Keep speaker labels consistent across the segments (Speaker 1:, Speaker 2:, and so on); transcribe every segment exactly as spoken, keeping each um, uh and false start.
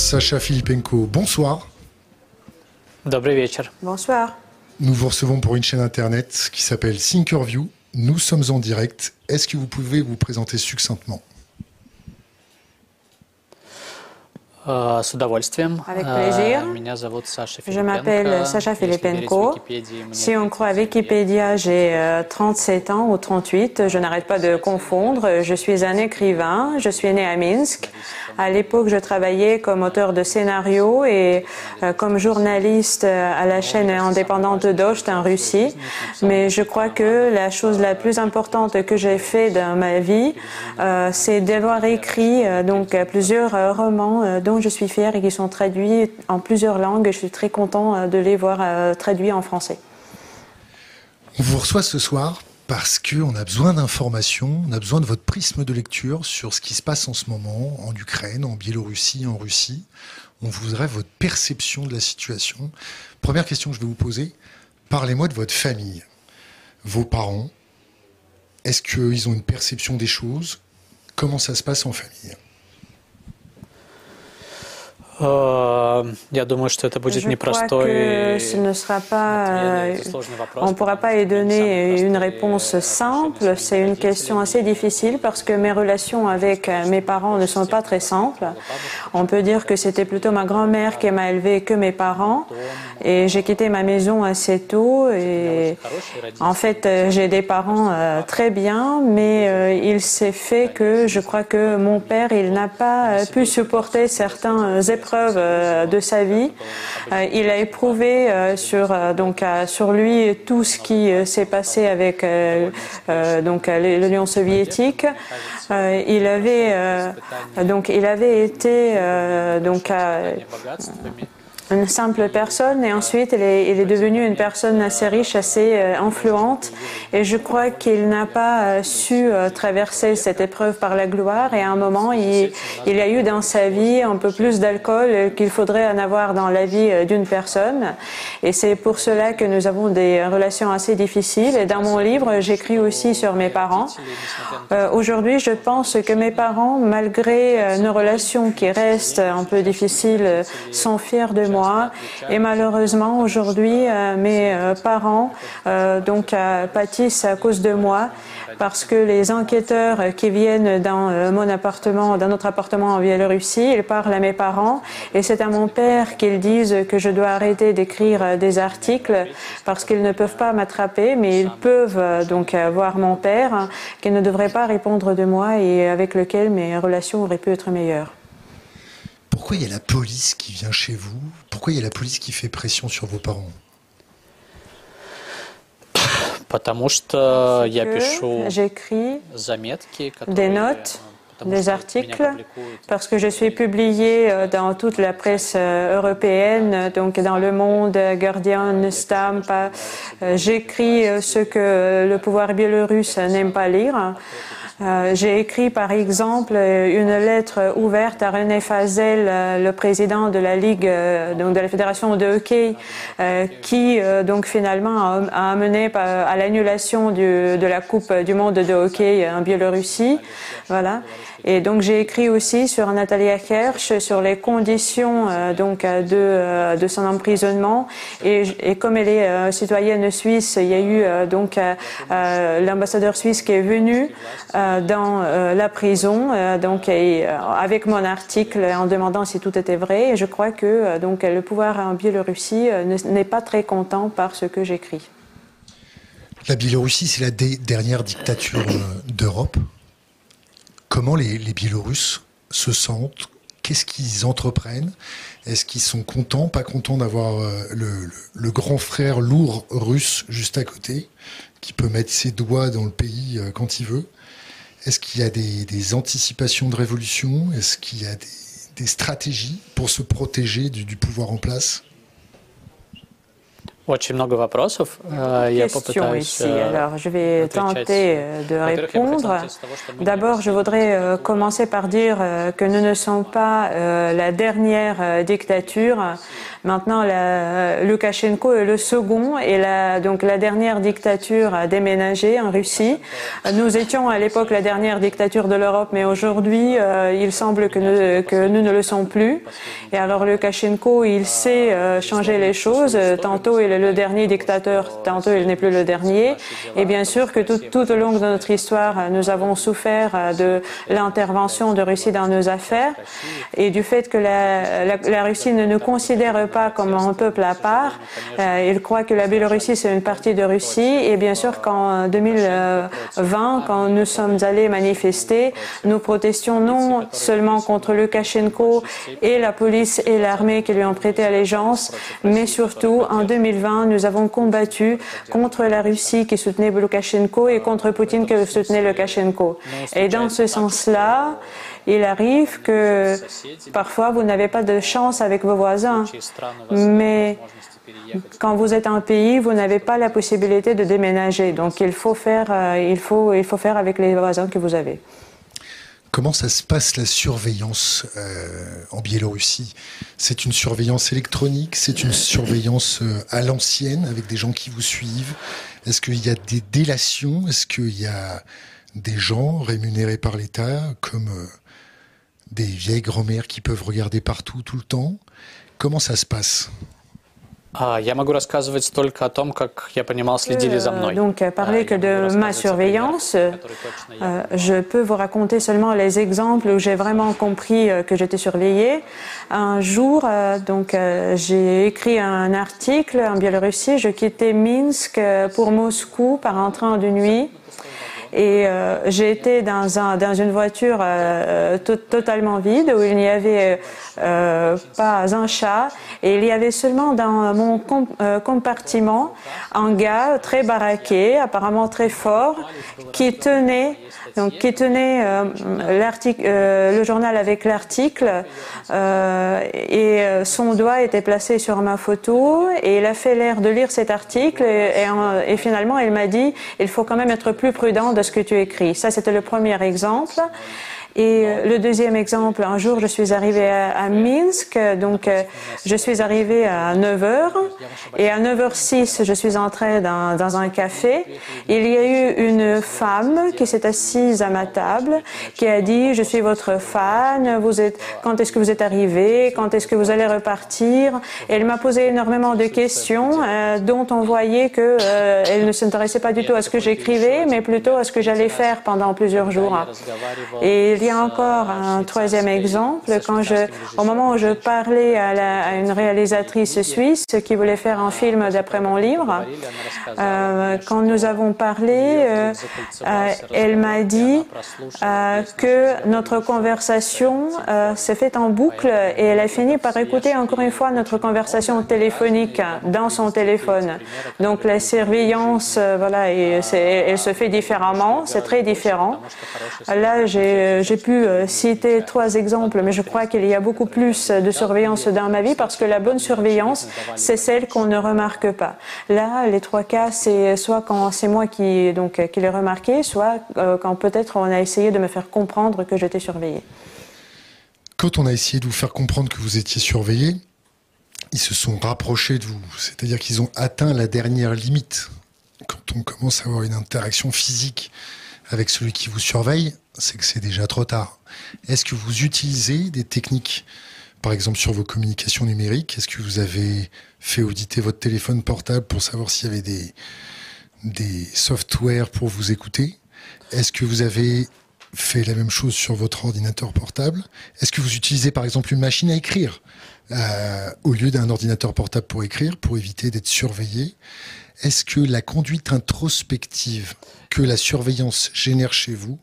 Speaker 1: Sacha Filipenko, bonsoir.
Speaker 2: Добрый вечер.
Speaker 3: Bonsoir.
Speaker 1: Nous vous recevons pour une chaîne internet qui s'appelle Thinkerview. Nous sommes en direct. Est-ce que vous pouvez vous présenter succinctement?
Speaker 2: С удовольствием.
Speaker 3: Avec plaisir.
Speaker 2: Меня зовут Саша Филипенко.
Speaker 3: Je m'appelle Sacha Filipenko. Si on croit à Wikipédia, j'ai trente-sept ans ou trente-huit. Je n'arrête pas de confondre. Je suis un écrivain. Je suis né à Minsk. À l'époque, je travaillais comme auteur de scénario et comme journaliste à la chaîne indépendante Dost en Russie. Mais je crois que la chose la plus importante que j'ai fait dans ma vie, euh, c'est d'avoir écrit euh, donc plusieurs euh, romans euh, dont je suis fière et qui sont traduits en plusieurs langues. Je suis très content euh, de les voir euh, traduits en français.
Speaker 1: On vous reçoit ce soir parce qu'on a besoin d'informations, on a besoin de votre prisme de lecture sur ce qui se passe en ce moment en Ukraine, en Biélorussie, en Russie. On voudrait votre perception de la situation. Première question que je vais vous poser, parlez-moi de votre famille, vos parents. Est-ce qu'ils ont une perception des choses? Comment ça se passe en famille?
Speaker 2: Я думаю, что это будет
Speaker 3: Je
Speaker 2: непростой.
Speaker 3: crois que ce ne sera pas, euh, on ne pourra pas y donner une réponse simple. C'est une question assez difficile parce que mes relations avec mes parents ne sont pas très simples. On peut dire que c'était plutôt ma grand-mère qui m'a élevée que mes parents. Et j'ai quitté ma maison assez tôt. Et en fait, j'ai des parents euh, très bien, mais euh, il s'est fait que je crois que mon père, il n'a pas euh, pu supporter certaines épreuves de sa vie. Il a éprouvé sur donc sur lui tout ce qui s'est passé avec donc l'Union soviétique. Il avait donc il avait été donc une simple personne et ensuite il est, il est devenu une personne assez riche, assez euh, influente et je crois qu'il n'a pas euh, su euh, traverser cette épreuve par la gloire et à un moment il, il y a eu dans sa vie un peu plus d'alcool qu'il faudrait en avoir dans la vie euh, d'une personne et c'est pour cela que nous avons des relations assez difficiles et dans mon livre j'écris aussi sur mes parents. Euh, aujourd'hui je pense que mes parents malgré euh, nos relations qui restent un peu difficiles euh, sont fiers de moi. Et malheureusement, aujourd'hui, euh, mes euh, parents euh, donc, euh, pâtissent à cause de moi parce que les enquêteurs qui viennent dans euh, mon appartement, dans notre appartement en Biélorussie, ils parlent à mes parents et c'est à mon père qu'ils disent que je dois arrêter d'écrire euh, des articles parce qu'ils ne peuvent pas m'attraper, mais ils peuvent euh, donc euh, voir mon père hein, qui ne devrait pas répondre de moi et avec lequel mes relations auraient pu être meilleures.
Speaker 1: Pourquoi il y a la police qui vient chez vous? Pourquoi il y a la police qui fait pression sur vos parents?
Speaker 2: Потому что я пишу
Speaker 3: j'écris
Speaker 2: заметки,
Speaker 3: des notes, des articles, parce que je suis publiée dans toute la presse européenne, donc dans Le Monde, Guardian, Stampa. J'écris ce que le pouvoir biélorusse n'aime pas lire. Euh, j'ai écrit par exemple une lettre ouverte à René Fazel, euh, le président de la Ligue, euh, donc de la Fédération de hockey, euh, qui euh, donc finalement a, a amené à l'annulation de la Coupe du monde de hockey en Biélorussie. Voilà. Et donc j'ai écrit aussi sur Natalia Hersh, sur les conditions euh, donc de, euh, de son emprisonnement. Et, et comme elle est euh, citoyenne suisse, il y a eu euh, donc euh, l'ambassadeur suisse qui est venu euh, dans euh, la prison, euh, donc et, euh, avec mon article en demandant si tout était vrai. Et je crois que euh, donc le pouvoir en Biélorussie euh, n'est pas très content par ce que j'écris.
Speaker 1: La Biélorussie, c'est la dernière dictature d'Europe. Comment les, les Biélorusses se sentent? Qu'est-ce qu'ils entreprennent? Est-ce qu'ils sont contents, pas contents d'avoir euh, le, le, le grand frère lourd russe juste à côté, qui peut mettre ses doigts dans le pays euh, quand il veut? Est-ce qu'il y a des, des anticipations de révolution? Est-ce qu'il y a des, des stratégies pour se protéger du, du pouvoir en place?
Speaker 2: Очень много вопросов. Я попытаюсь
Speaker 3: ici. Alors, je vais tenter de répondre. D'abord, je voudrais commencer par dire que nous ne sommes pas la dernière dictature. Maintenant, la, Loukachenko est le second et la, donc la dernière dictature a déménagé en Russie. Nous étions à l'époque la dernière dictature de l'Europe, mais aujourd'hui, euh, il semble que nous, que nous ne le sommes plus. Et alors, Loukachenko, il sait euh, changer les choses. Tantôt, il est le dernier dictateur, tantôt, il n'est plus le dernier. Et bien sûr que tout, tout au long de notre histoire, nous avons souffert de l'intervention de Russie dans nos affaires et du fait que la, la, la Russie ne nous considère pas comme un peuple à part. Euh, il croit que la Biélorussie, c'est une partie de Russie. Et bien sûr qu'en deux mille vingt, quand nous sommes allés manifester, nous protestions non seulement contre Loukachenko et la police et l'armée qui lui ont prêté allégeance, mais surtout en deux mille vingt, nous avons combattu contre la Russie qui soutenait Loukachenko et contre Poutine qui soutenait Loukachenko. Et dans ce sens-là, il arrive que parfois vous n'avez pas de chance avec vos voisins, mais quand vous êtes un pays, vous n'avez pas la possibilité de déménager. Donc il faut faire, il faut, il faut faire avec les voisins que vous avez.
Speaker 1: Comment ça se passe la surveillance euh, en Biélorussie? C'est une surveillance électronique, c'est une surveillance euh, à l'ancienne avec des gens qui vous suivent? Est-ce qu'il y a des délations? Est-ce qu'il y a des gens rémunérés par l'État comme euh, des vieilles grand-mères qui peuvent regarder partout tout le temps? Comment ça se passe?
Speaker 2: Я могу рассказывать только о том, как я понимал, следили за мной.
Speaker 3: Donc, parler que de ma surveillance, euh, je peux vous raconter seulement les exemples où j'ai vraiment compris euh, que j'étais surveillée. Un jour, euh, donc, euh, j'ai écrit un article en Biélorussie. Je quittais Minsk pour Moscou par un train de nuit. Et euh, j'ai été dans, un, dans une voiture euh, to totalement vide où il n'y avait euh, pas un chat et il y avait seulement dans mon com euh, compartiment un gars très baraqué, apparemment très fort, qui tenait donc qui tenait euh, l'article, euh, le journal avec l'article euh, et euh, son doigt était placé sur ma photo et il a fait l'air de lire cet article et, et, et finalement il m'a dit il faut quand même être plus prudent de ce que tu écris. Ça c'était le premier exemple. Et le deuxième exemple, un jour je suis arrivée à, à Minsk, donc euh, je suis arrivée à neuf heures et à neuf heures six je suis entrée dans, dans un café. Il y a eu une femme qui s'est assise à ma table, qui a dit je suis votre fan, vous êtes, quand est-ce que vous êtes arrivé, quand est-ce que vous allez repartir? Et elle m'a posé énormément de questions euh, dont on voyait que euh, elle ne s'intéressait pas du tout à ce que j'écrivais, mais plutôt à ce que j'allais faire pendant plusieurs jours. Et il y a encore un troisième exemple, quand je, au moment où je parlais à, la, à une réalisatrice suisse qui voulait faire un film d'après mon livre, euh, quand nous avons parlé, euh, euh, elle m'a dit euh, que notre conversation euh, s'est faite en boucle et elle a fini par écouter encore une fois notre conversation téléphonique dans son téléphone. Donc la surveillance, euh, voilà, et elle se fait différemment, c'est très différent. Là, j'ai pu citer trois exemples, mais je crois qu'il y a beaucoup plus de surveillance dans ma vie parce que la bonne surveillance, c'est celle qu'on ne remarque pas. Là, les trois cas, c'est soit quand c'est moi qui, donc, qui l'ai remarqué, soit euh, quand peut-être on a essayé de me faire comprendre que j'étais surveillée.
Speaker 1: Quand on a essayé de vous faire comprendre que vous étiez surveillée, ils se sont rapprochés de vous, c'est-à-dire qu'ils ont atteint la dernière limite. Quand on commence à avoir une interaction physique avec celui qui vous surveille, c'est que c'est déjà trop tard. Est-ce que vous utilisez des techniques, par exemple sur vos communications numériques? Est-ce que vous avez fait auditer votre téléphone portable pour savoir s'il y avait des, des softwares pour vous écouter? Est-ce que vous avez fait la même chose sur votre ordinateur portable? Est-ce que vous utilisez par exemple une machine à écrire euh, au lieu d'un ordinateur portable pour écrire, pour éviter d'être surveillé? Est-ce que la conduite introspective que la surveillance génère chez vous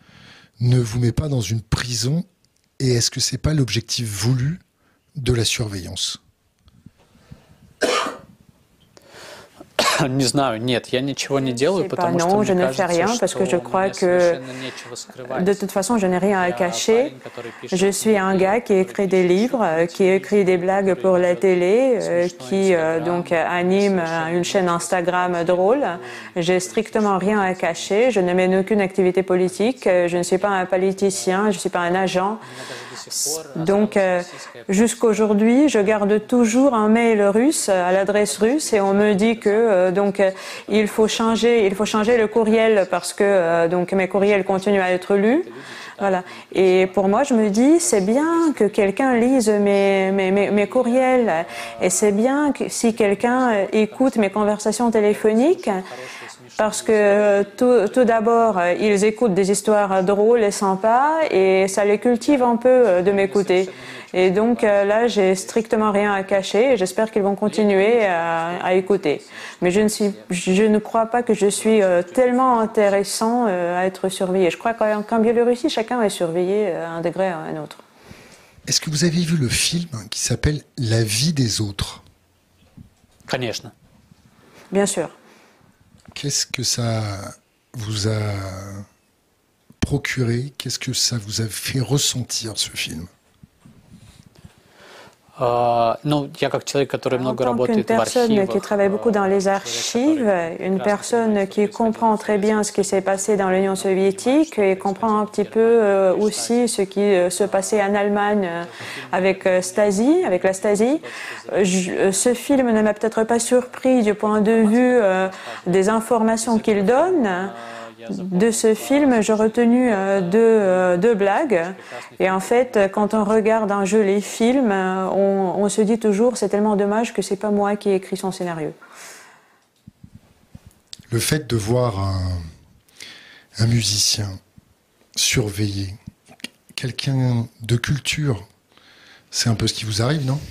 Speaker 1: ne vous met pas dans une prison? Et est-ce que c'est pas l'objectif voulu de la surveillance?
Speaker 2: Не знаю, нет, я ничего не делаю,
Speaker 3: потому что non, je ne fais rien parce que je crois que de toute façon, je n'ai rien à cacher. Je suis un gars qui écrit des livres, qui écrit des blagues pour la télé, qui donc anime une chaîne Instagram drôle. J'ai strictement rien à cacher. Je ne mène aucune activité politique. Je ne suis pas un politicien. Je ne suis pas un agent. Donc, euh, jusqu'aujourd'hui, je garde toujours un mail russe à l'adresse russe et on me dit que euh, donc euh, il faut changer, il faut changer le courriel parce que euh, donc mes courriels continuent à être lus. Voilà. Et pour moi, je me dis, c'est bien que quelqu'un lise mes, mes, mes, mes courriels et c'est bien que si quelqu'un écoute mes conversations téléphoniques. Parce que tout, tout d'abord, ils écoutent des histoires drôles et sympas et ça les cultive un peu de m'écouter. Et donc là, j'ai strictement rien à cacher et j'espère qu'ils vont continuer à, à écouter. Mais je ne, suis, je ne crois pas que je suis tellement intéressant à être surveillé. Je crois qu'en Biélorussie, chacun est surveillé à un degré à un autre.
Speaker 1: Est-ce que vous avez vu le film qui s'appelle « La vie des autres » ?
Speaker 2: Конечно.
Speaker 3: Bien sûr.
Speaker 1: Qu'est-ce que ça vous a procuré? Qu'est-ce que ça vous a fait ressentir, ce film?
Speaker 2: Uh, ну, я как человек, который много работает в архивах.
Speaker 3: Une personne qui travaille beaucoup dans les archives, une personne qui comprend très bien ce qui s'est passé dans l'Union soviétique et comprend un petit peu aussi ce qui se passait en Allemagne avec Stasi, avec la Stasi. Je, ce film ne m'a peut-être pas surpris du point de vue euh, des informations qu'il donne. De ce film, j'ai retenu euh, deux, euh, deux blagues. Et en fait, quand on regarde un jeu les films, on, on se dit toujours c'est tellement dommage que c'est pas moi qui ai écrit son scénario.
Speaker 1: Le fait de voir un, un musicien surveillé, quelqu'un de culture, c'est un peu ce qui vous arrive, non?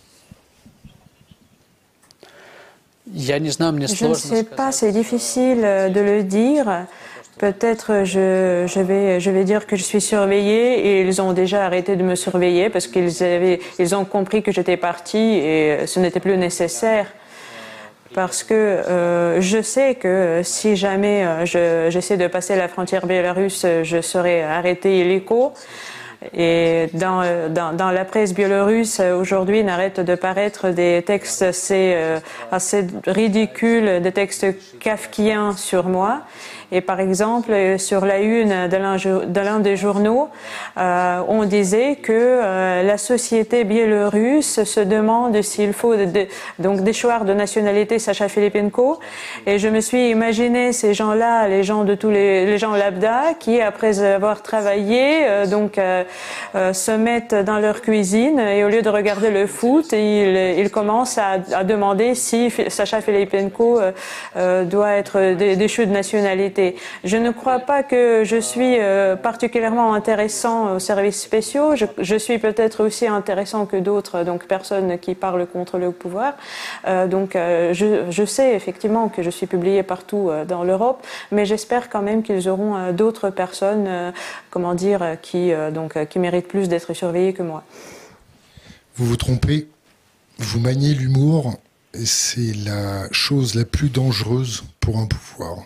Speaker 2: Je
Speaker 3: ne sais pas, c'est difficile de le dire. Peut-être je, je, vais, je vais dire que je suis surveillée et ils ont déjà arrêté de me surveiller parce qu'ils avaient, ils ont compris que j'étais partie et ce n'était plus nécessaire. Parce que euh, je sais que si jamais euh, je, j'essaie de passer la frontière biélorusse, je serai arrêtée illico. Et dans, dans, dans la presse biélorusse, aujourd'hui, n'arrêtent de paraître des textes assez, euh, assez ridicules, des textes kafkiens sur moi. Et par exemple, sur la une de l'un, de l'un des journaux, euh, on disait que euh, la société biélorusse se demande s'il faut de, de, donc déchoir de nationalité Sacha Filipenko. Et je me suis imaginé ces gens-là, les gens de tous les, les gens lambda, qui après avoir travaillé, euh, donc euh, euh, se mettent dans leur cuisine et au lieu de regarder le foot, ils, ils commencent à, à demander si Sacha Filipenko euh, euh, doit être déchu de nationalité. Je ne crois pas que je suis euh, particulièrement intéressant aux services spéciaux. Je, je suis peut-être aussi intéressant que d'autres, donc personnes qui parlent contre le pouvoir. Euh, donc euh, je, je sais effectivement que je suis publiée partout euh, dans l'Europe, mais j'espère quand même qu'ils auront euh, d'autres personnes, euh, comment dire, qui, euh, donc, euh, qui méritent plus d'être surveillées que moi.
Speaker 1: Vous vous trompez, vous maniez l'humour et c'est la chose la plus dangereuse pour un pouvoir.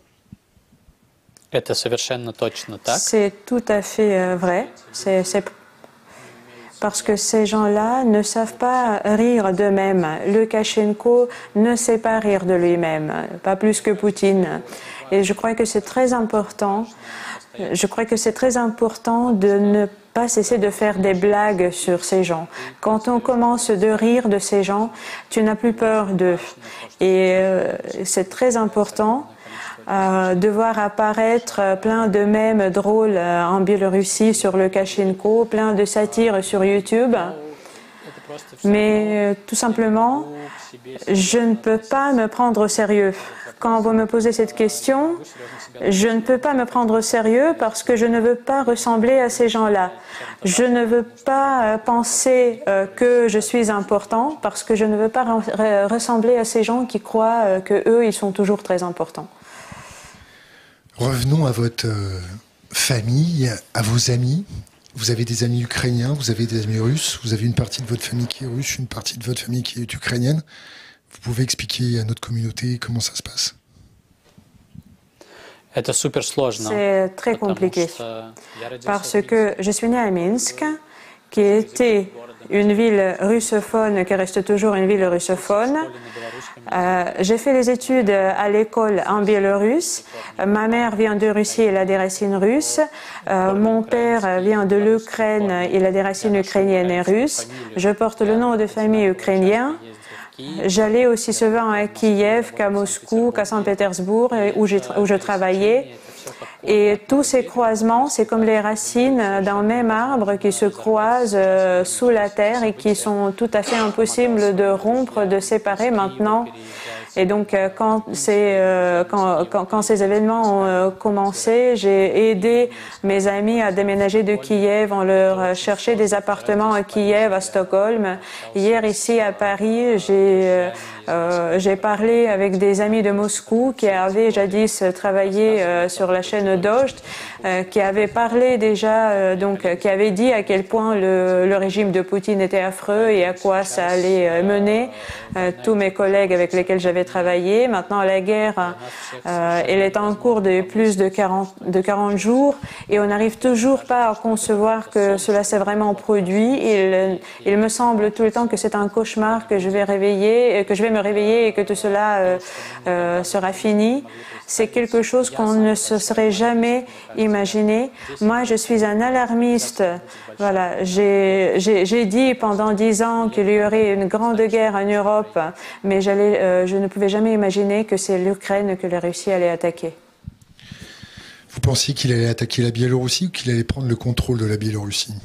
Speaker 3: C'est tout à fait vrai. C'est, c'est parce que ces gens-là ne savent pas rire d'eux-mêmes. Lukashenko ne sait pas rire de lui-même, pas plus que Poutine. Et je crois que c'est très important. Je crois que c'est très important de ne pas cesser de faire des blagues sur ces gens. Quand on commence de rire de ces gens, tu n'as plus peur d'eux. Et euh, c'est très important. Euh, de voir apparaître plein de mèmes drôles euh, en Biélorussie sur Lukashenko, plein de satires sur YouTube. Mais euh, tout simplement, je ne peux pas me prendre au sérieux. Quand vous me posez cette question, je ne peux pas me prendre au sérieux parce que je ne veux pas ressembler à ces gens-là. Je ne veux pas euh, penser euh, que je suis important parce que je ne veux pas re- ressembler à ces gens qui croient euh, que eux, ils sont toujours très importants.
Speaker 1: Revenons à votre euh, famille, à vos amis. Vous avez des amis ukrainiens, vous avez des amis russes, vous avez une partie de votre famille qui est russe, une partie de votre famille qui est ukrainienne. Vous pouvez expliquer à notre communauté comment ça se passe?
Speaker 3: C'est très compliqué parce que je suis née à Minsk, qui était une ville russophone, qui reste toujours une ville russophone. Euh, j'ai fait les études à l'école en biélorusse. Ma mère vient de Russie, elle a des racines russes. Euh, mon père vient de l'Ukraine, il a des racines ukrainiennes et russes. Je porte le nom de famille ukrainien. J'allais aussi souvent à Kiev, qu'à Moscou, qu'à Saint-Pétersbourg, où, où je travaillais. Et tous ces croisements, c'est comme les racines d'un même arbre qui se croisent euh, sous la terre et qui sont tout à fait impossibles de rompre, de séparer maintenant. Et donc, euh, quand, ces, euh, quand, quand, quand ces événements ont euh, commencé, j'ai aidé mes amis à déménager de Kiev. On leur cherchait des appartements à Kiev, à Stockholm. Hier, ici à Paris, j'ai euh, j'ai parlé avec des amis de Moscou qui avaient jadis travaillé euh, sur la chaîne Docht, euh, qui avaient parlé déjà, euh, donc, qui avaient dit à quel point le, le régime de Poutine était affreux et à quoi ça allait euh, mener. Euh, tous mes collègues avec lesquels j'avais travaillé. Maintenant, la guerre, euh, elle est en cours de plus de quarante, de quarante jours et on n'arrive toujours pas à concevoir que cela s'est vraiment produit. Il, il me semble tout le temps que c'est un cauchemar, que je vais réveiller, que je vais me réveiller et que tout cela euh, euh, sera fini. C'est quelque chose qu'on ne se serait jamais imaginé. Moi, je suis un alarmiste. Voilà, j'ai dit pendant dix ans qu'il y aurait une grande guerre en Europe, mais j'allais, euh, je ne pouvais jamais imaginer que c'est l'Ukraine que la Russie allait attaquer.
Speaker 1: Vous pensiez qu'il allait attaquer la Biélorussie ou qu'il allait prendre le contrôle de la Biélorussie?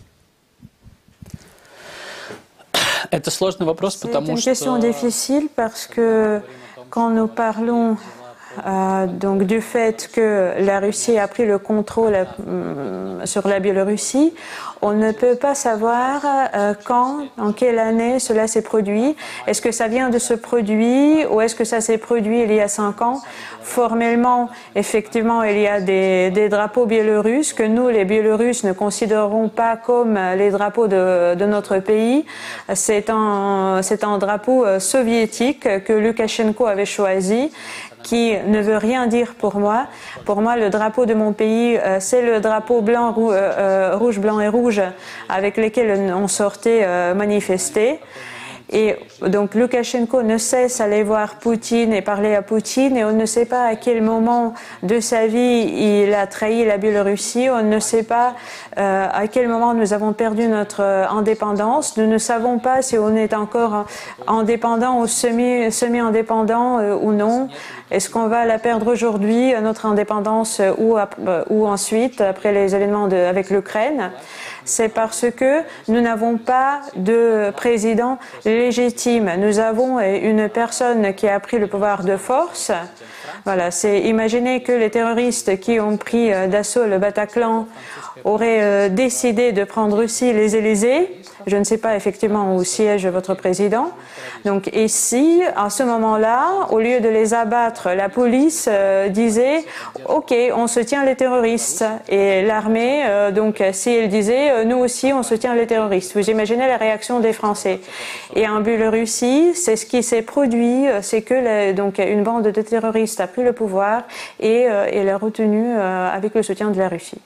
Speaker 3: C'est une question difficile parce que quand nous parlons Euh, donc du fait que la Russie a pris le contrôle euh, sur la Biélorussie, on ne peut pas savoir euh, quand, en quelle année cela s'est produit. Est-ce que ça vient de ce produit ou est-ce que ça s'est produit il y a cinq ans? Formellement, effectivement, il y a des, des drapeaux biélorusses que nous, les Biélorusses, ne considérons pas comme les drapeaux de, de notre pays. C'est un, c'est un drapeau soviétique que Loukachenko avait choisi, qui ne veut rien dire pour moi. Pour moi, le drapeau de mon pays, euh, c'est le drapeau blanc, rou, euh, rouge, blanc et rouge avec lesquels on sortait euh, manifester. Et donc Loukachenko ne cesse d'aller voir Poutine et parler à Poutine et on ne sait pas à quel moment de sa vie il a trahi la Biélorussie, on ne sait pas euh, à quel moment nous avons perdu notre indépendance, nous ne savons pas si on est encore indépendant ou semi, semi-indépendant euh, ou non. Est-ce qu'on va la perdre aujourd'hui, notre indépendance, ou, ou ensuite, après les événements de, avec l'Ukraine? C'est parce que nous n'avons pas de président légitime. Nous avons une personne qui a pris le pouvoir de force. Voilà, c'est imaginer que les terroristes qui ont pris d'assaut le Bataclan auraient décidé de prendre aussi les Élysées. Je ne sais pas effectivement où siège votre président. Donc ici, à ce moment-là, au lieu de les abattre, la police euh, disait « Ok, on soutient les terroristes ». Et l'armée, euh, donc si elle disait euh, « Nous aussi, on soutient les terroristes ». Vous imaginez la réaction des Français. Et en Biélorussie, c'est ce qui s'est produit, c'est que la, donc, une bande de terroristes a pris le pouvoir et, euh, et l'a retenu euh, avec le soutien de la Russie.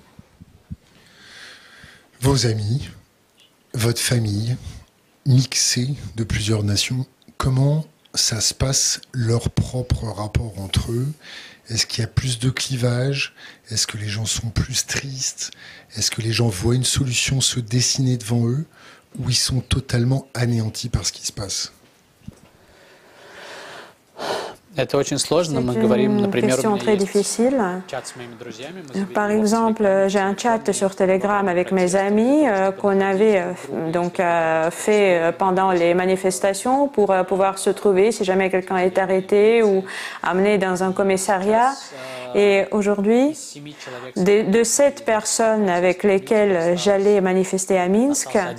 Speaker 1: Vos amis, votre famille, mixée de plusieurs nations, comment ça se passe, leur propre rapport entre eux? Est-ce qu'il y a plus de clivage? Est-ce que les gens sont plus tristes? Est-ce que les gens voient une solution se dessiner devant eux? Ou ils sont totalement anéantis par ce qui se passe?
Speaker 3: C'est une question très difficile. Par exemple, j'ai un chat sur Telegram avec mes amis euh, qu'on avait euh, donc euh, fait pendant les manifestations pour euh, pouvoir se trouver si jamais quelqu'un est arrêté ou amené dans un commissariat. Et aujourd'hui, de, de sept personnes avec lesquelles j'allais manifester à Minsk,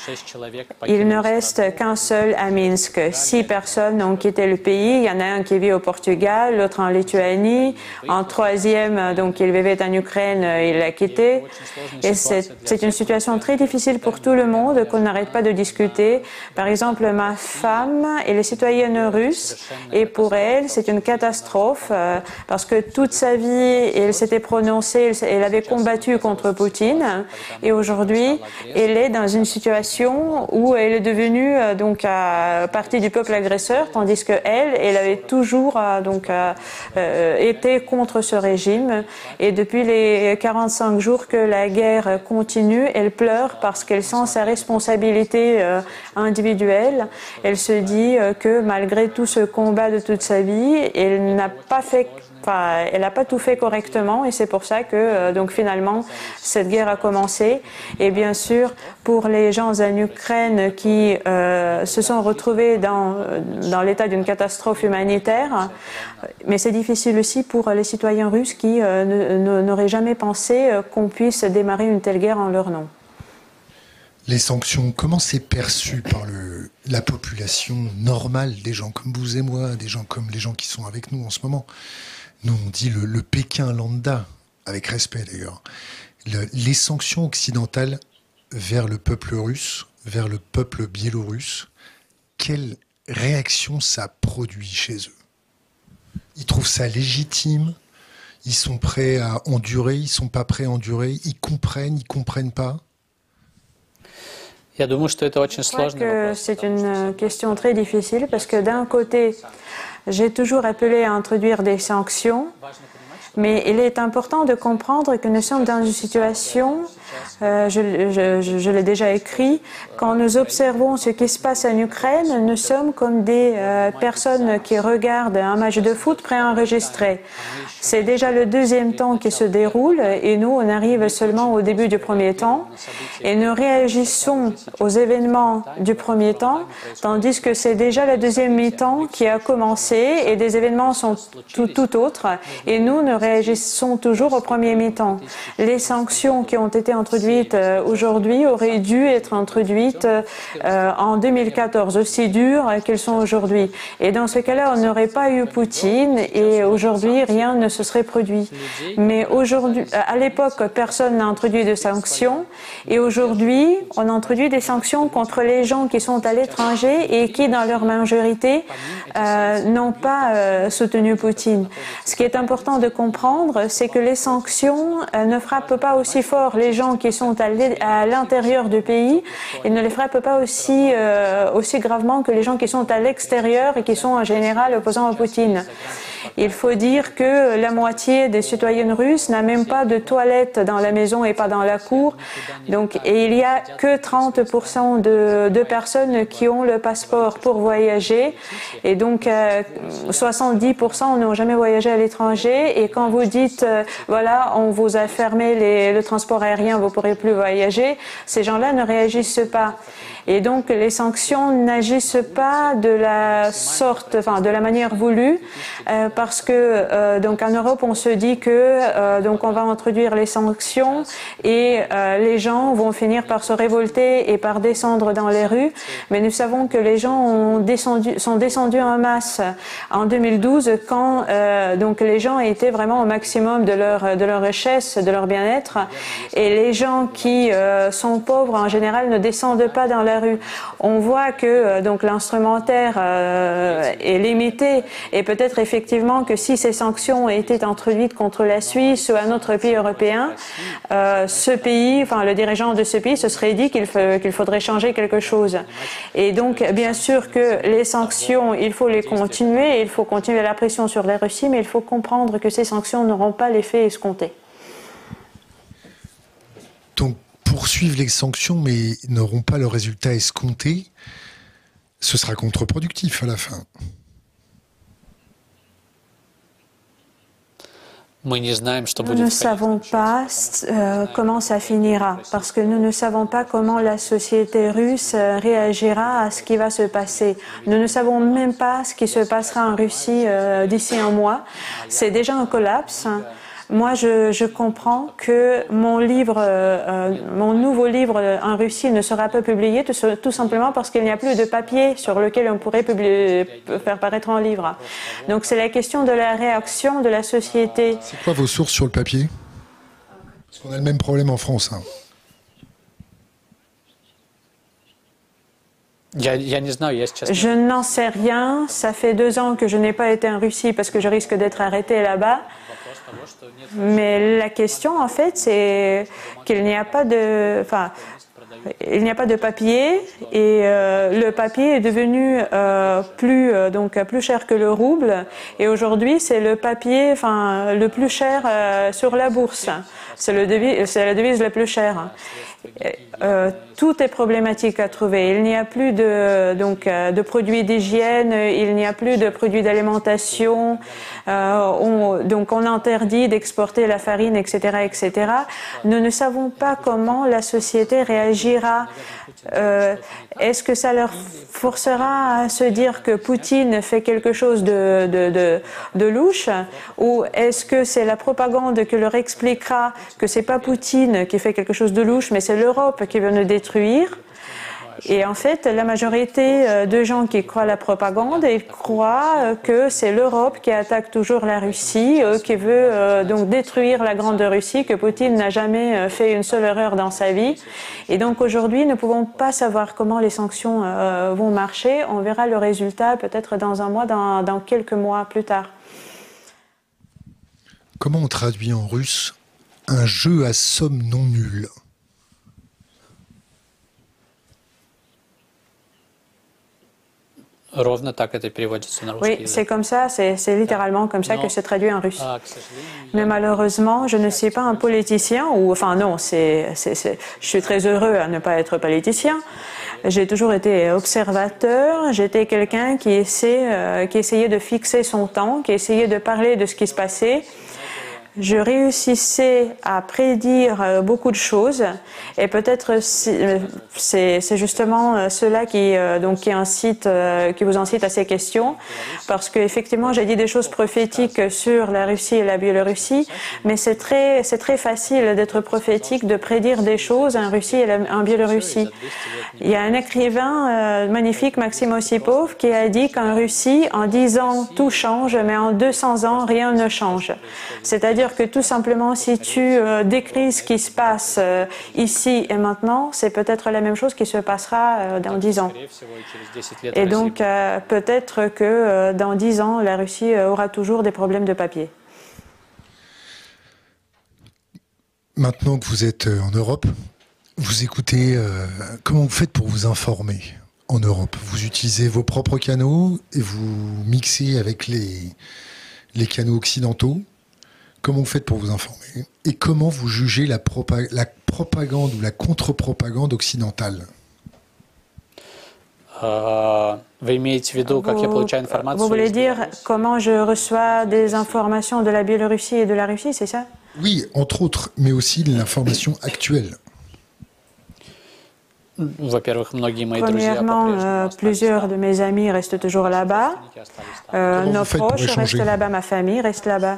Speaker 3: il ne reste qu'un seul à Minsk. Six personnes ont quitté le pays. Il y en a un qui vit au Portugal, l'autre en Lituanie. En troisième, donc, il vivait en Ukraine, il l'a quitté. Et c'est une situation très difficile pour tout le monde qu'on n'arrête pas de discuter. Par exemple, ma femme, elle est citoyenne russe et pour elle, c'est une catastrophe euh, parce que toute sa vie, elle s'était prononcée, elle, elle avait combattu contre Poutine et aujourd'hui, elle est dans une situation où elle est devenue euh, donc euh, partie du peuple agresseur, tandis que elle, elle avait toujours euh, donc euh, euh, été contre ce régime. Et depuis les quarante-cinq jours que la guerre continue, elle pleure parce qu'elle sent sa responsabilité euh, individuelle. Elle se dit euh, que malgré tout ce combat de toute sa vie, elle n'a pas fait Enfin, elle n'a pas tout fait correctement et c'est pour ça que euh, donc finalement cette guerre a commencé. Et bien sûr, pour les gens en Ukraine qui euh, se sont retrouvés dans, dans l'état d'une catastrophe humanitaire, mais c'est difficile aussi pour les citoyens russes qui euh, n'auraient jamais pensé qu'on puisse démarrer une telle guerre en leur nom.
Speaker 1: Les sanctions, comment c'est perçu par le, la population normale, des gens comme vous et moi, des gens comme les gens qui sont avec nous en ce moment? Nous, on dit le, le Pékin lambda, avec respect d'ailleurs. Le, les sanctions occidentales vers le peuple russe, vers le peuple biélorusse, quelle réaction ça produit chez eux? Ils trouvent ça légitime? Ils sont prêts à endurer? Ils sont pas prêts à endurer? Ils comprennent? Ils comprennent pas?
Speaker 3: Je crois que c'est une question très difficile parce que d'un côté, j'ai toujours appelé à introduire des sanctions, mais il est important de comprendre que nous sommes dans une situation, euh, je, je, je, je l'ai déjà écrit, quand nous observons ce qui se passe en Ukraine, nous sommes comme des euh, personnes qui regardent un match de foot préenregistré. C'est déjà le deuxième temps qui se déroule et nous, on arrive seulement au début du premier temps et nous réagissons aux événements du premier temps, tandis que c'est déjà la deuxième mi-temps qui a commencé et des événements sont tout, tout autres et nous ne réagissons toujours au premier mi-temps. Les sanctions qui ont été introduites euh, aujourd'hui auraient dû être introduites euh, en deux mille quatorze, aussi dures qu'elles sont aujourd'hui. Et dans ce cas-là, on n'aurait pas eu Poutine et aujourd'hui, rien ne se serait produit. Mais aujourd'hui, à l'époque, personne n'a introduit de sanctions et aujourd'hui, on introduit des sanctions contre les gens qui sont à l'étranger et qui, dans leur majorité, euh, n'ont pas euh, soutenu Poutine. Ce qui est important de comprendre, c'est que les sanctions euh, ne frappent pas aussi fort les gens qui sont à l'intérieur du pays et ne les frappent pas aussi, euh, aussi gravement que les gens qui sont à l'extérieur et qui sont en général opposants à Poutine. Il faut dire que la moitié des citoyennes russes n'a même pas de toilette dans la maison et pas dans la cour. Donc, et il n'y a que trente pour cent de, de personnes qui ont le passeport pour voyager. Et donc, euh, soixante-dix pour cent n'ont jamais voyagé à l'étranger. Et quand vous dites, euh, voilà, on vous a fermé les, le transport aérien, vous ne pourrez plus voyager, ces gens-là ne réagissent pas. Et donc, les sanctions n'agissent pas de la sorte, enfin, de la manière voulue, euh, parce que, euh, donc, en Europe, on se dit que, euh, donc, on va introduire les sanctions et euh, les gens vont finir par se révolter et par descendre dans les rues. Mais nous savons que les gens ont descendu, sont descendus en masse en deux mille douze quand, euh, donc, les gens étaient vraiment au maximum de leur, de leur richesse, de leur bien-être. Et les gens qui euh, sont pauvres, en général, ne descendent pas dans la rue. On voit que euh, donc l'instrumentaire euh, est limité et peut-être effectivement que si ces sanctions étaient introduites contre la Suisse ou un autre pays européen, euh, ce pays, enfin le dirigeant de ce pays se serait dit qu'il qu'il faudrait changer quelque chose. Et donc bien sûr que les sanctions, il faut les continuer, il faut continuer la pression sur la Russie, mais il faut comprendre que ces sanctions n'auront pas l'effet escompté.
Speaker 1: Donc poursuivre les sanctions mais n'auront pas le résultat escompté, ce sera contre-productif à la fin.
Speaker 3: Nous ne savons pas euh, comment ça finira, parce que nous ne savons pas comment la société russe réagira à ce qui va se passer. Nous ne savons même pas ce qui se passera en Russie euh, d'ici un mois. C'est déjà un collapse. Moi, je, je comprends que mon livre, euh, mon nouveau livre en Russie ne sera pas publié tout, tout simplement parce qu'il n'y a plus de papier sur lequel on pourrait publier, faire paraître un livre. Donc c'est la question de la réaction de la société.
Speaker 1: C'est quoi vos sources sur le papier? Parce qu'on a le même problème en France. Hein.
Speaker 3: Je n'en sais rien. Ça fait deux ans que je n'ai pas été en Russie parce que je risque d'être arrêté là-bas. Mais la question, en fait, c'est qu'il n'y a pas de, enfin, il n'y a pas de papier et euh, le papier est devenu euh, plus euh, donc plus cher que le rouble. Et aujourd'hui, c'est le papier, enfin, le plus cher euh, sur la bourse. C'est le devise, c'est la devise la plus chère. Euh, tout est problématique à trouver. Il n'y a plus de, donc, euh, de produits d'hygiène, il n'y a plus de produits d'alimentation, euh, on, donc on interdit d'exporter la farine, et cetera, et cetera. Nous ne savons pas comment la société réagira. Euh, est-ce que ça leur forcera à se dire que Poutine fait quelque chose de, de, de, de louche, ou est-ce que c'est la propagande qui leur expliquera que c'est pas Poutine qui fait quelque chose de louche, mais c'est l'Europe qui veut nous détruire? Et en fait, la majorité de gens qui croient à la propagande, ils croient que c'est l'Europe qui attaque toujours la Russie, qui veut donc détruire la grande Russie, que Poutine n'a jamais fait une seule erreur dans sa vie. Et donc aujourd'hui, nous ne pouvons pas savoir comment les sanctions vont marcher. On verra le résultat peut-être dans un mois, dans, dans quelques mois plus tard.
Speaker 1: Comment on traduit en russe un jeu à somme non nulle?
Speaker 3: Oui, c'est comme ça, c'est littéralement comme ça que c'est traduit en russe. Mais malheureusement, je ne suis pas un politicien, ou enfin non, c'est, c'est, c'est, je suis très heureux à ne pas être politicien. J'ai toujours été observateur, j'étais quelqu'un qui, essaie, euh, qui essayait de fixer son temps, qui essayait de parler de ce qui se passait. Je réussissais à prédire beaucoup de choses et peut-être c'est justement cela qui donc qui incite qui vous incite à ces questions, parce que effectivement j'ai dit des choses prophétiques sur la Russie et la Biélorussie, mais c'est très c'est très facile d'être prophétique, de prédire des choses en Russie et en Biélorussie. Il y a un écrivain magnifique, Maxime Ossipov, qui a dit qu'en Russie en dix ans tout change, mais en deux cents ans rien ne change. C'est-à-dire que tout simplement, si tu euh, décris ce qui se passe euh, ici et maintenant, c'est peut-être la même chose qui se passera euh, dans dix ans. Et donc, euh, peut-être que euh, dans dix ans, la Russie euh, aura toujours des problèmes de papier.
Speaker 1: Maintenant que vous êtes en Europe, vous écoutez, euh, comment vous faites pour vous informer en Europe? Vous utilisez vos propres canaux et vous mixez avec les, les canaux occidentaux? Comment vous faites pour vous informer? Et comment vous jugez la, propa la propagande ou la contre-propagande occidentale?
Speaker 2: euh, vous,
Speaker 3: vous voulez dire comment je reçois des informations de la Biélorussie et de la Russie, c'est ça?
Speaker 1: Oui, entre autres, mais aussi l'information actuelle.
Speaker 3: Premièrement, euh, plusieurs de mes amis restent toujours là-bas. Euh, nos proches restent là-bas, ma famille reste là-bas.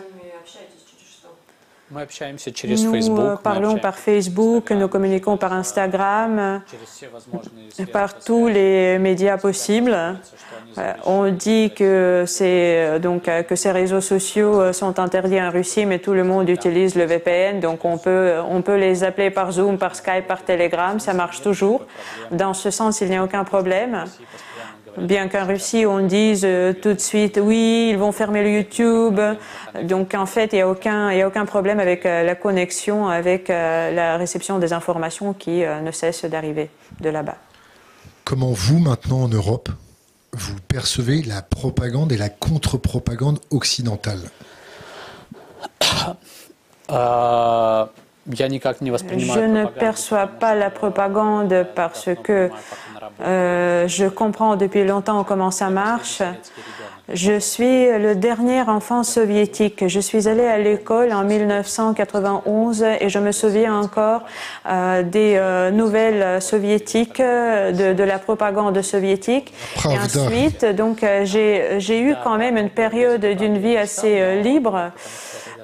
Speaker 3: Nous euh, parlons par Facebook, nous communiquons par Instagram, par tous les médias possibles. Euh, on dit que, c'est, donc, que ces réseaux sociaux sont interdits en Russie, mais tout le monde utilise le V P N, donc on peut, on peut les appeler par Zoom, par Skype, par Telegram, ça marche toujours. Dans ce sens, il n'y a aucun problème. Bien qu'en Russie, on dise euh, tout de suite, oui, ils vont fermer le YouTube. Donc, en fait, il n'y a aucun, il y a aucun problème avec euh, la connexion, avec euh, la réception des informations qui euh, ne cessent d'arriver de là-bas.
Speaker 1: Comment vous, maintenant, en Europe, vous percevez la propagande et la contre-propagande occidentale?
Speaker 2: euh...
Speaker 3: Je ne perçois pas la propagande parce que euh, je comprends depuis longtemps comment ça marche. Je suis le dernier enfant soviétique. Je suis allée à l'école en mille neuf cent quatre-vingt-onze et je me souviens encore euh, des euh, nouvelles soviétiques, de, de la propagande soviétique. Et ensuite, donc, euh, j'ai j'ai eu quand même une période d'une vie assez euh, libre.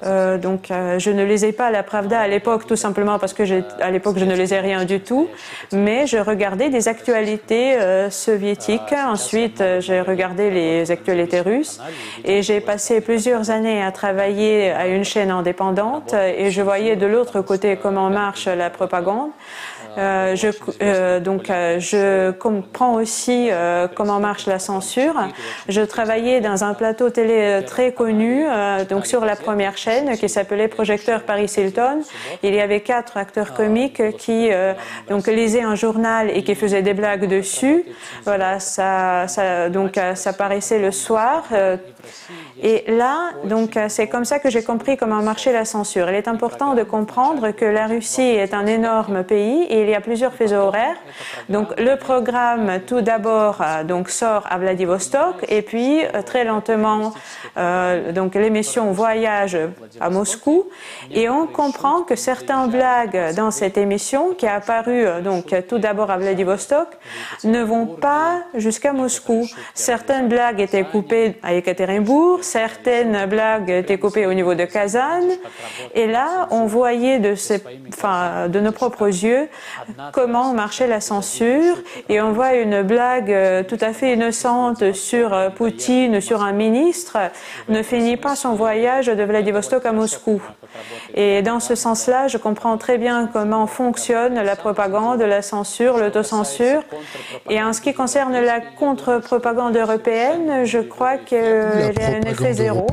Speaker 3: Euh, donc, euh, je ne lisais pas la Pravda à l'époque, tout simplement parce que à l'époque, je ne lisais rien du tout. Mais je regardais des actualités euh, soviétiques. Ensuite, euh, j'ai regardé les actualités russes. Et j'ai passé plusieurs années à travailler à une chaîne indépendante. Et je voyais de l'autre côté comment marche la propagande. Euh, je, euh, donc, euh, je comprends aussi euh, comment marche la censure. Je travaillais dans un plateau télé très connu, euh, donc sur la première chaîne, qui s'appelait Projecteur Paris Hilton. Il y avait quatre acteurs comiques qui euh, donc lisaient un journal et qui faisaient des blagues dessus. Voilà, ça, ça donc ça paraissait le soir. Euh, Et là, donc, c'est comme ça que j'ai compris comment marchait la censure. Il est important de comprendre que la Russie est un énorme pays et il y a plusieurs fuseaux horaires. Donc, le programme, tout d'abord, donc sort à Vladivostok et puis très lentement, euh, donc l'émission voyage à Moscou. Et on comprend que certaines blagues dans cette émission, qui a apparu donc tout d'abord à Vladivostok, ne vont pas jusqu'à Moscou. Certaines blagues étaient coupées à Ekaterinbourg. Certaines blagues étaient coupées au niveau de Kazan. Et là, on voyait de, ces, enfin, de nos propres yeux comment marchait la censure. Et on voit une blague tout à fait innocente sur Poutine, sur un ministre, ne finit pas son voyage de Vladivostok à Moscou. Et dans ce sens-là, je comprends très bien comment fonctionne la propagande, la censure, l'autocensure. Et en ce qui concerne la contre-propagande européenne, je crois qu'il y a un effet zéro.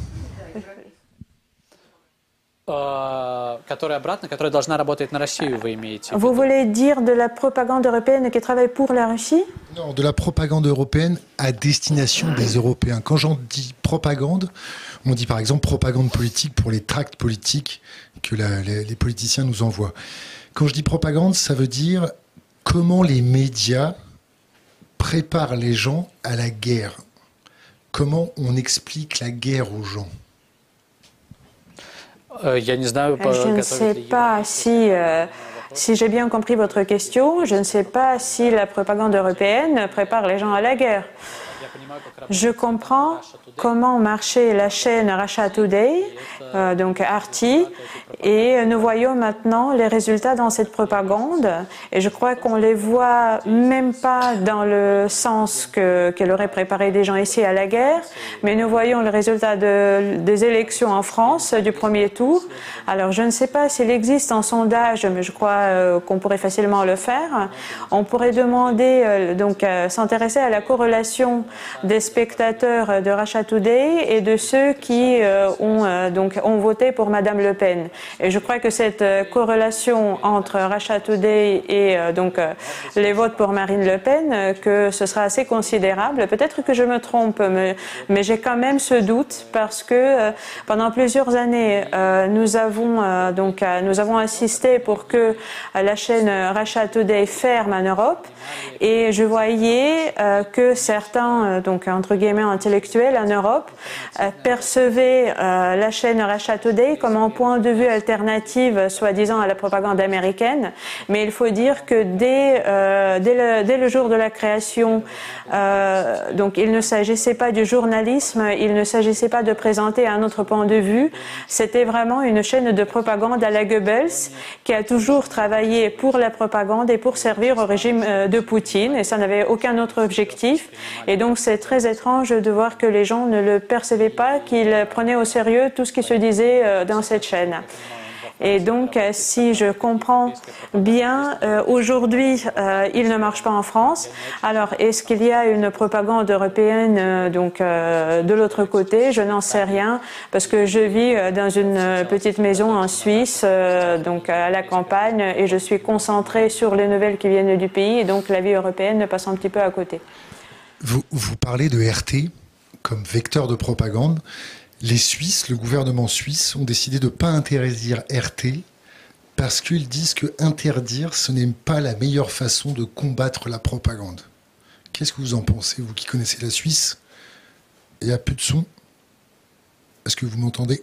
Speaker 3: Vous voulez dire de la propagande européenne qui travaille pour la Russie?
Speaker 1: Non, de la propagande européenne à destination des Européens. Quand j'en dis propagande, on dit par exemple propagande politique pour les tracts politiques que la, les, les politiciens nous envoient. Quand je dis propagande, ça veut dire comment les médias préparent les gens à la guerre. Comment on explique la guerre aux gens?
Speaker 3: Je ne sais pas si, euh, si j'ai bien compris votre question. Je ne sais pas si la propagande européenne prépare les gens à la guerre. Je comprends comment marchait la chaîne Russia Today, euh, donc R T, et nous voyons maintenant les résultats dans cette propagande. Et je crois qu'on les voit même pas dans le sens que, qu'elle aurait préparé des gens ici à la guerre, mais nous voyons le résultat de, des élections en France du premier tour. Alors je ne sais pas s'il existe un sondage, mais je crois euh, qu'on pourrait facilement le faire. On pourrait demander, euh, donc, euh, s'intéresser à la corrélation des spectateurs de Russia Today et de ceux qui euh, ont, euh, donc, ont voté pour Madame Le Pen. Et je crois que cette euh, corrélation entre Russia Today et euh, donc, euh, les votes pour Marine Le Pen, euh, que ce sera assez considérable. Peut-être que je me trompe, mais, mais j'ai quand même ce doute parce que euh, pendant plusieurs années, euh, nous, avons, euh, donc, euh, nous avons assisté pour que euh, la chaîne Russia Today ferme en Europe. Et je voyais euh, que certains, euh, donc entre guillemets intellectuels en Europe, euh, percevaient euh, la chaîne Russia Today comme un point de vue alternative, soi-disant à la propagande américaine. Mais il faut dire que dès, euh, dès, le, dès le jour de la création, euh, donc il ne s'agissait pas du journalisme, il ne s'agissait pas de présenter un autre point de vue. C'était vraiment une chaîne de propagande à la Goebbels qui a toujours travaillé pour la propagande et pour servir au régime euh, de Poutine, et ça n'avait aucun autre objectif. Et donc c'est très étrange de voir que les gens ne le percevaient pas, qu'ils prenaient au sérieux tout ce qui se disait dans cette chaîne. Et donc, si je comprends bien, euh, aujourd'hui, euh, il ne marche pas en France. Alors, est-ce qu'il y a une propagande européenne euh, donc euh, de l'autre côté? Je n'en sais rien, parce que je vis dans une petite maison en Suisse, euh, donc à la campagne, et je suis concentrée sur les nouvelles qui viennent du pays, et donc la vie européenne passe un petit peu à côté.
Speaker 1: Vous, vous parlez de R T comme vecteur de propagande. Les Suisses, le gouvernement suisse, ont décidé de ne pas interdire R T parce qu'ils disent que interdire, ce n'est pas la meilleure façon de combattre la propagande. Qu'est-ce que vous en pensez, vous qui connaissez la Suisse? Il n'y a plus de son. Est-ce que vous m'entendez?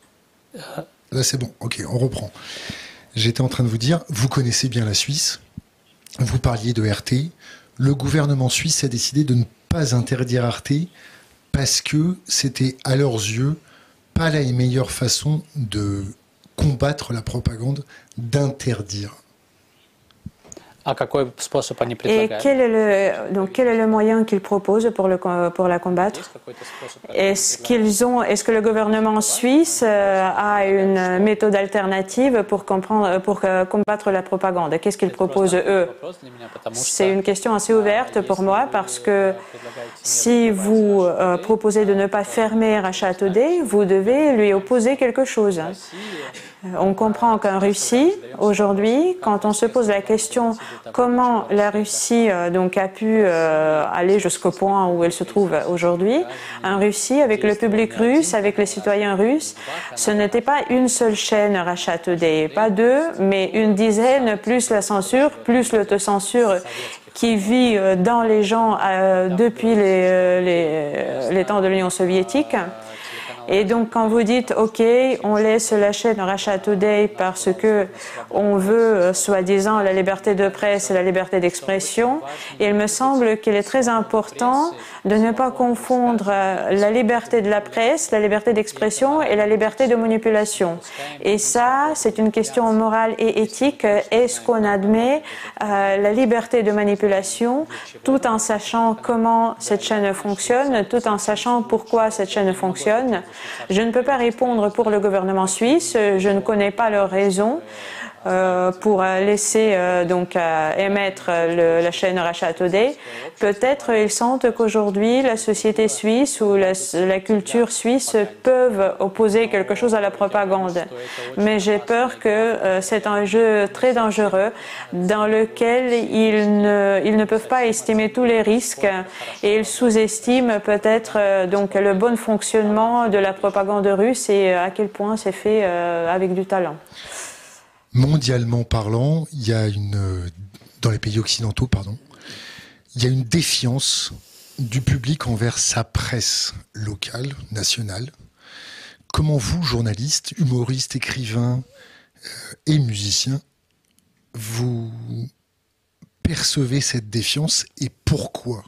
Speaker 1: Là, c'est bon. Ok, on reprend. J'étais en train de vous dire, vous connaissez bien la Suisse. Vous parliez de R T. Le gouvernement suisse a décidé de ne pas interdire R T parce que c'était, à leurs yeux, pas la meilleure façon de combattre la propagande, d'interdire?
Speaker 2: А какой способ они
Speaker 3: Et
Speaker 2: предлагают?
Speaker 3: quel est le, donc, quel est le moyen qu'ils proposent pour, le, pour la combattre?
Speaker 2: Есть какой-то способ?
Speaker 3: Est-ce qu'ils ont, est-ce que le gouvernement suisse euh, a une méthode alternative pour, comprendre, pour euh, combattre la propagande? Qu'est-ce qu'ils proposent eux? C'est une question assez ouverte pour moi parce que si vous euh, proposez de ne pas fermer Rachat Today, vous devez lui opposer quelque chose. On comprend qu'en Russie, aujourd'hui, quand on se pose la question comment la Russie euh, donc, a pu euh, aller jusqu'au point où elle se trouve aujourd'hui, en Russie, avec le public russe, avec les citoyens russes, ce n'était pas une seule chaîne Rachat Today, pas deux, mais une dizaine, plus la censure, plus l'autocensure qui vit dans les gens euh, depuis les, les, les temps de l'Union soviétique. Et donc, quand vous dites, OK, on laisse la chaîne Rachat Today parce que on veut, soi-disant, la liberté de presse et la liberté d'expression, il me semble qu'il est très important de ne pas confondre la liberté de la presse, la liberté d'expression et la liberté de manipulation. Et ça, c'est une question morale et éthique. Est-ce qu'on admet euh, la liberté de manipulation tout en sachant comment cette chaîne fonctionne, tout en sachant pourquoi cette chaîne fonctionne? Je ne peux pas répondre pour le gouvernement suisse, je ne connais pas leurs raisons euh, pour laisser euh, donc euh, émettre le, la chaîne Rachat Today. Peut-être ils sentent qu'aujourd'hui la société suisse ou la, la culture suisse peuvent opposer quelque chose à la propagande. Mais j'ai peur que euh, c'est un jeu très dangereux dans lequel ils ne, ils ne peuvent pas estimer tous les risques et ils sous-estiment peut-être euh, donc le bon fonctionnement de la propagande russe et à quel point c'est fait euh, avec du talent.
Speaker 1: Mondialement parlant, il y a une, dans les pays occidentaux, pardon, il y a une défiance du public envers sa presse locale, nationale. Comment vous, journalistes, humoristes, écrivains euh, et musiciens, vous percevez cette défiance et pourquoi?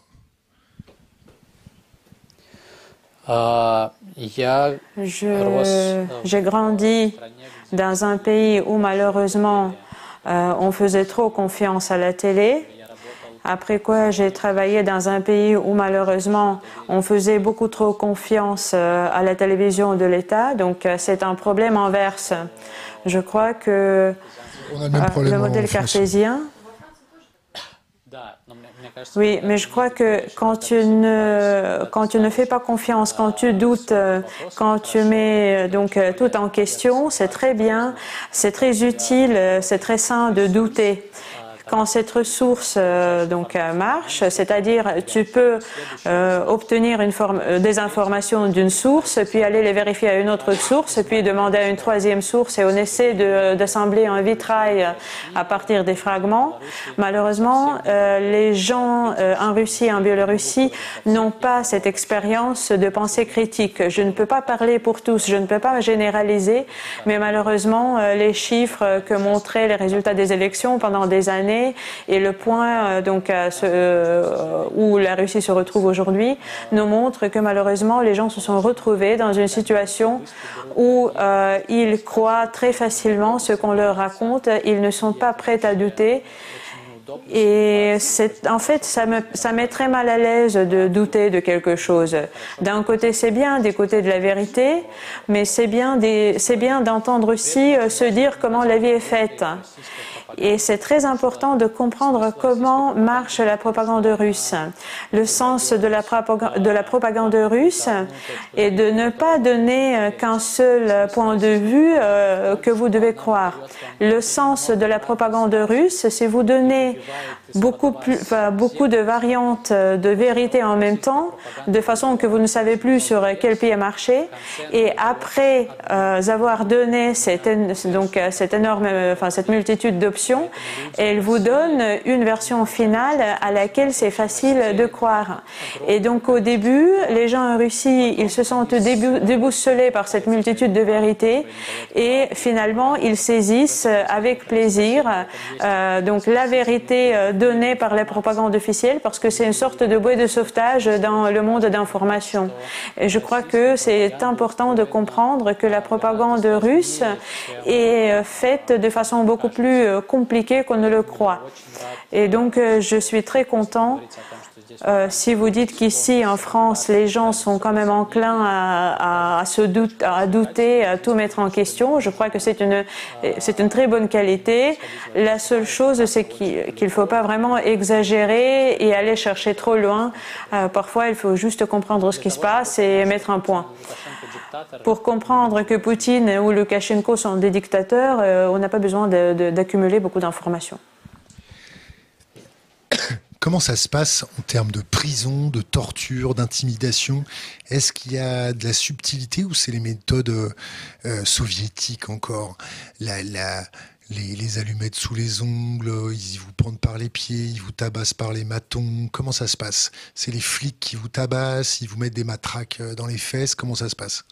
Speaker 2: Euh, я
Speaker 3: Je, j'ai grandi dans un pays où malheureusement euh, on faisait trop confiance à la télé. Après quoi, j'ai travaillé dans un pays où malheureusement on faisait beaucoup trop confiance euh, à la télévision de l'État. Donc euh, c'est un problème inverse. Je crois que
Speaker 1: On a le, même
Speaker 3: euh,
Speaker 1: problème
Speaker 3: le modèle cartésien. Oui, mais je crois que quand tu ne, quand tu ne fais pas confiance, quand tu doutes, quand tu mets donc tout en question, c'est très bien, c'est très utile, c'est très sain de douter. Quand cette ressource euh, donc euh, marche, c'est-à-dire tu peux euh, obtenir une forme, euh, des informations d'une source, puis aller les vérifier à une autre source, puis demander à une troisième source et on essaie de, d'assembler un vitrail à partir des fragments. Malheureusement, euh, les gens euh, en Russie et en Biélorussie n'ont pas cette expérience de pensée critique. Je ne peux pas parler pour tous, je ne peux pas généraliser, mais malheureusement, euh, les chiffres que montraient les résultats des élections pendant des années et le point euh, donc, euh, ce, euh, où la Russie se retrouve aujourd'hui nous montre que malheureusement les gens se sont retrouvés dans une situation où euh, ils croient très facilement ce qu'on leur raconte, ils ne sont pas prêts à douter. Et c'est, en fait, ça me, ça met très mal à l'aise de douter de quelque chose. D'un côté, c'est bien, des côtés de la vérité, mais c'est bien, des, c'est bien d'entendre aussi euh, se dire comment la vie est faite. Et c'est très important de comprendre comment marche la propagande russe. Le sens de la propagande, de la propagande russe est de ne pas donner qu'un seul point de vue euh, que vous devez croire. Le sens de la propagande russe, c'est vous donner beaucoup, plus, enfin, beaucoup de variantes de vérité en même temps, de façon que vous ne savez plus sur quel pied marcher. Et après euh, avoir donné cette, donc, cette énorme, enfin, cette multitude d'options, elle vous donne une version finale à laquelle c'est facile de croire. Et donc au début, les gens en Russie, ils se sentent déboussolés par cette multitude de vérités et finalement ils saisissent avec plaisir euh, donc la vérité de donné par la propagande officielle parce que c'est une sorte de bouée de sauvetage dans le monde d'information. Et je crois que c'est important de comprendre que la propagande russe est faite de façon beaucoup plus compliquée qu'on ne le croit. Et donc, je suis très content Euh, si vous dites qu'ici, en France, les gens sont quand même enclins à, à, à se doute, à douter, à tout mettre en question, je crois que c'est une, c'est une très bonne qualité. La seule chose, c'est qu'il ne faut pas vraiment exagérer et aller chercher trop loin. Euh, parfois, il faut juste comprendre ce qui se passe et mettre un point. Pour comprendre que Poutine ou Loukachenko sont des dictateurs, euh, on n'a pas besoin de, de, d'accumuler beaucoup d'informations.
Speaker 1: Comment ça se passe en termes de prison, de torture, d'intimidation? Est-ce qu'il y a de la subtilité ou c'est les méthodes euh, soviétiques encore? la, la, les, les allumettes sous les ongles, ils vous prennent par les pieds, ils vous tabassent par les matons. Comment ça se passe? C'est les flics qui vous tabassent, ils vous mettent des matraques dans les fesses. Comment ça se passe?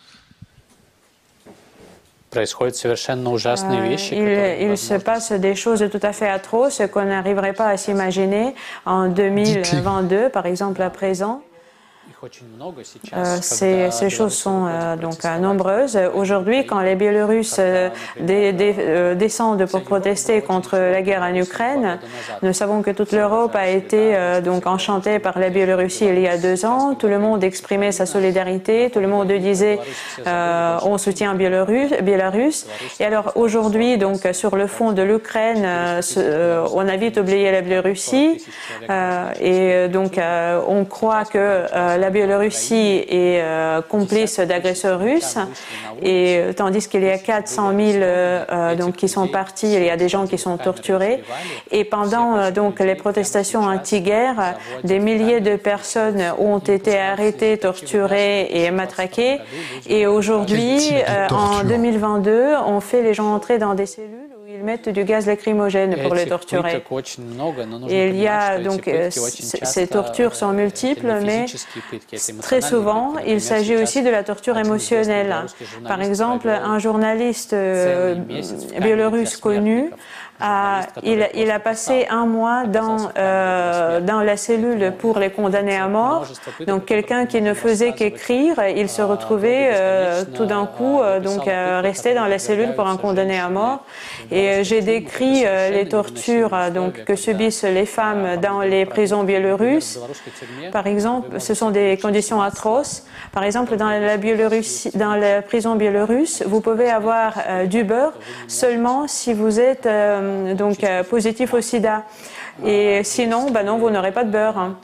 Speaker 2: Происходят совершенно ужасные вещи.
Speaker 3: Il, il se passe des choses tout à fait atroces qu'on n'arriverait pas à s'imaginer en deux mille vingt-deux, par exemple à présent. Euh, ces, ces choses sont euh, donc euh, nombreuses. Aujourd'hui, quand les Biélorusses euh, dé, dé, euh, descendent pour protester contre la guerre en Ukraine, nous savons que toute l'Europe a été euh, donc enchantée par la Biélorussie il y a deux ans. Tout le monde exprimait sa solidarité, tout le monde disait euh, on soutient Biélorusse, Biélorusse. Et alors aujourd'hui, donc sur le fond de l'Ukraine, euh, euh, on a vite oublié la Biélorussie euh, et donc euh, on croit que euh, la Biélorussie est euh, complice d'agresseurs russes, et euh, tandis qu'il y a quatre cent mille euh, donc qui sont partis, il y a des gens qui sont torturés. Et pendant euh, donc les protestations anti-guerre, des milliers de personnes ont été arrêtées, torturées et matraquées. Et aujourd'hui, euh, en deux mille vingt-deux, on fait les gens entrer dans des cellules où ils mettent du gaz lacrymogène pour les torturer. Et il y a donc euh, ces tortures sont multiples, mais très souvent, il s'agit aussi de la torture émotionnelle. Par exemple, un journaliste euh, biélorusse connu, a, il, il a passé un mois dans, euh, dans la cellule pour les condamnés à mort. Donc, quelqu'un qui ne faisait qu'écrire, il se retrouvait euh, tout d'un coup euh, donc euh, resté dans la cellule pour un condamné à mort. Et euh, j'ai décrit euh, les tortures euh, donc que subissent les femmes dans les prisons biélorusses. Par exemple, ce sont des conditions atroces. Par exemple, dans la, Biélorussie, dans la prison biélorusse, vous pouvez avoir euh, du beurre seulement si vous êtes euh, donc euh, positif au sida. Et sinon, ben non, vous n'aurez pas de beurre. Hein.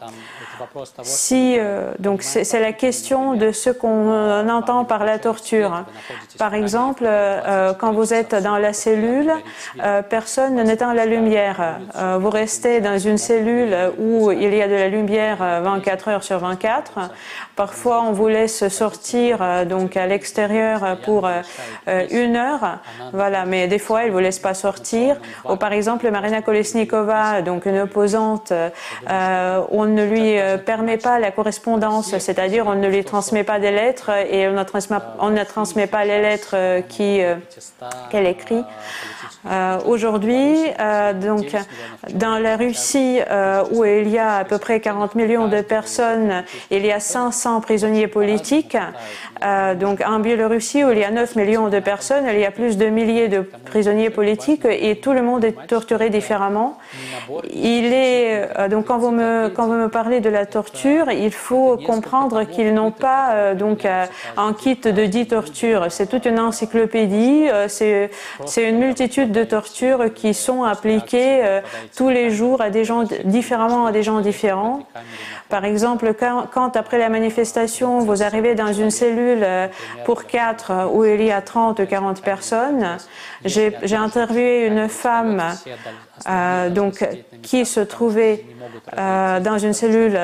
Speaker 3: Si, euh, donc c'est la question de ce qu'on entend par la torture. Par exemple, euh, quand vous êtes dans la cellule, euh, personne n'éteint la lumière. Euh, vous restez dans une cellule où il y a de la lumière vingt-quatre heures sur vingt-quatre. Parfois, on vous laisse sortir euh, donc à l'extérieur pour euh, une heure. Voilà, mais des fois, ils vous laissent pas sortir. Ou par exemple, Marina Kolesnikova, donc une opposante, euh, on ne lui permet pas la correspondance, c'est-à-dire on ne lui transmet pas des lettres et on ne transmet, on ne transmet pas les lettres qui, euh, qu'elle écrit. Euh, Aujourd'hui, euh, donc, dans la Russie, euh, où il y a à peu près quarante millions de personnes, il y a cinq cents prisonniers politiques. Euh, donc, en Biélorussie, où il y a neuf millions de personnes, il y a plus de milliers de prisonniers politiques et tout le monde est torturé différemment. Il est, euh, donc, quand vous me, quand vous me parlez de la torture, il faut comprendre qu'ils n'ont pas euh, donc euh, un kit de dix tortures. C'est toute une encyclopédie, euh, c'est une multitude de tortures qui sont appliquées euh, tous les jours à des gens différemment à des gens différents. Par exemple, quand, quand après la manifestation, vous arrivez dans une cellule euh, pour quatre où il y a trente ou quarante personnes, j'ai interviewé une femme euh, donc, qui se trouvait euh, dans une cellule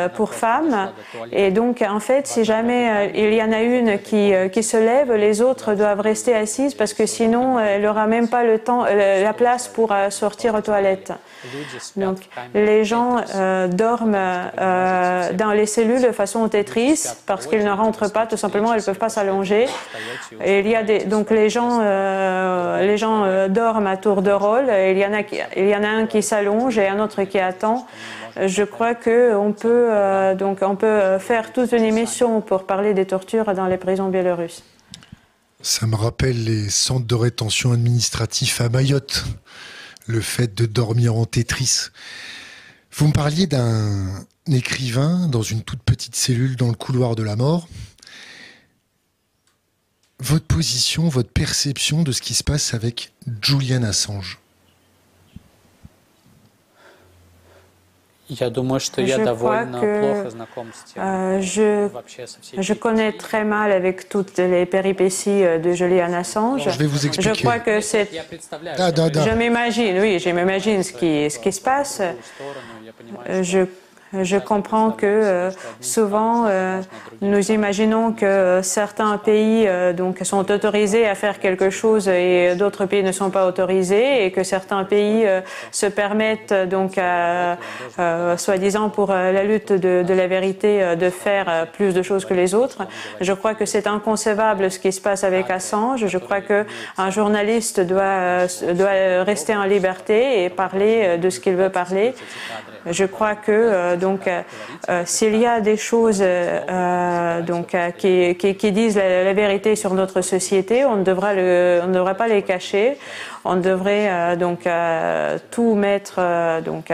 Speaker 3: pour femmes. Et donc, en fait, si jamais il y en a une qui, qui se lève, les autres doivent rester assises parce que sinon, elle n'aura même pas le temps, la place pour sortir aux toilettes. Donc, les gens euh, dorment euh, dans les cellules de façon Tetris parce qu'ils ne rentrent pas, tout simplement, ils ne peuvent pas s'allonger. Et il y a des, donc les gens, euh, les gens euh, dorment à tour de rôle. Et il y en a, qui, il y en a un qui s'allonge et un autre qui attend. Je crois que on peut euh, donc on peut faire toute une émission pour parler des tortures dans les prisons biélorusses.
Speaker 1: Ça me rappelle les centres de rétention administratifs à Mayotte. Le fait de dormir en Tetris. Vous me parliez d'un écrivain dans une toute petite cellule dans le couloir de la mort. Votre position, votre perception de ce qui se passe avec Julian Assange?
Speaker 3: Je crois que euh, je, je connais très mal avec toutes les péripéties de Julian Assange.
Speaker 1: Alors, je vais vous expliquer.
Speaker 3: Je crois que c'est...
Speaker 1: Da, da, da.
Speaker 3: Je m'imagine, oui, je m'imagine ce qui, ce qui se passe. Je Je comprends que euh, souvent euh, nous imaginons que certains pays euh, donc sont autorisés à faire quelque chose et d'autres pays ne sont pas autorisés et que certains pays euh, se permettent donc à, euh, soi-disant pour euh, la lutte de, de la vérité euh, de faire euh, plus de choses que les autres. Je crois que c'est inconcevable ce qui se passe avec Assange. Je crois que un journaliste doit, euh, doit rester en liberté et parler euh, de ce qu'il veut parler. Je crois que euh, donc euh, s'il y a des choses euh, donc euh, qui, qui, qui disent la, la vérité sur notre société, on ne devra le, on ne devrait pas les cacher. On devrait euh, donc euh, tout mettre euh, donc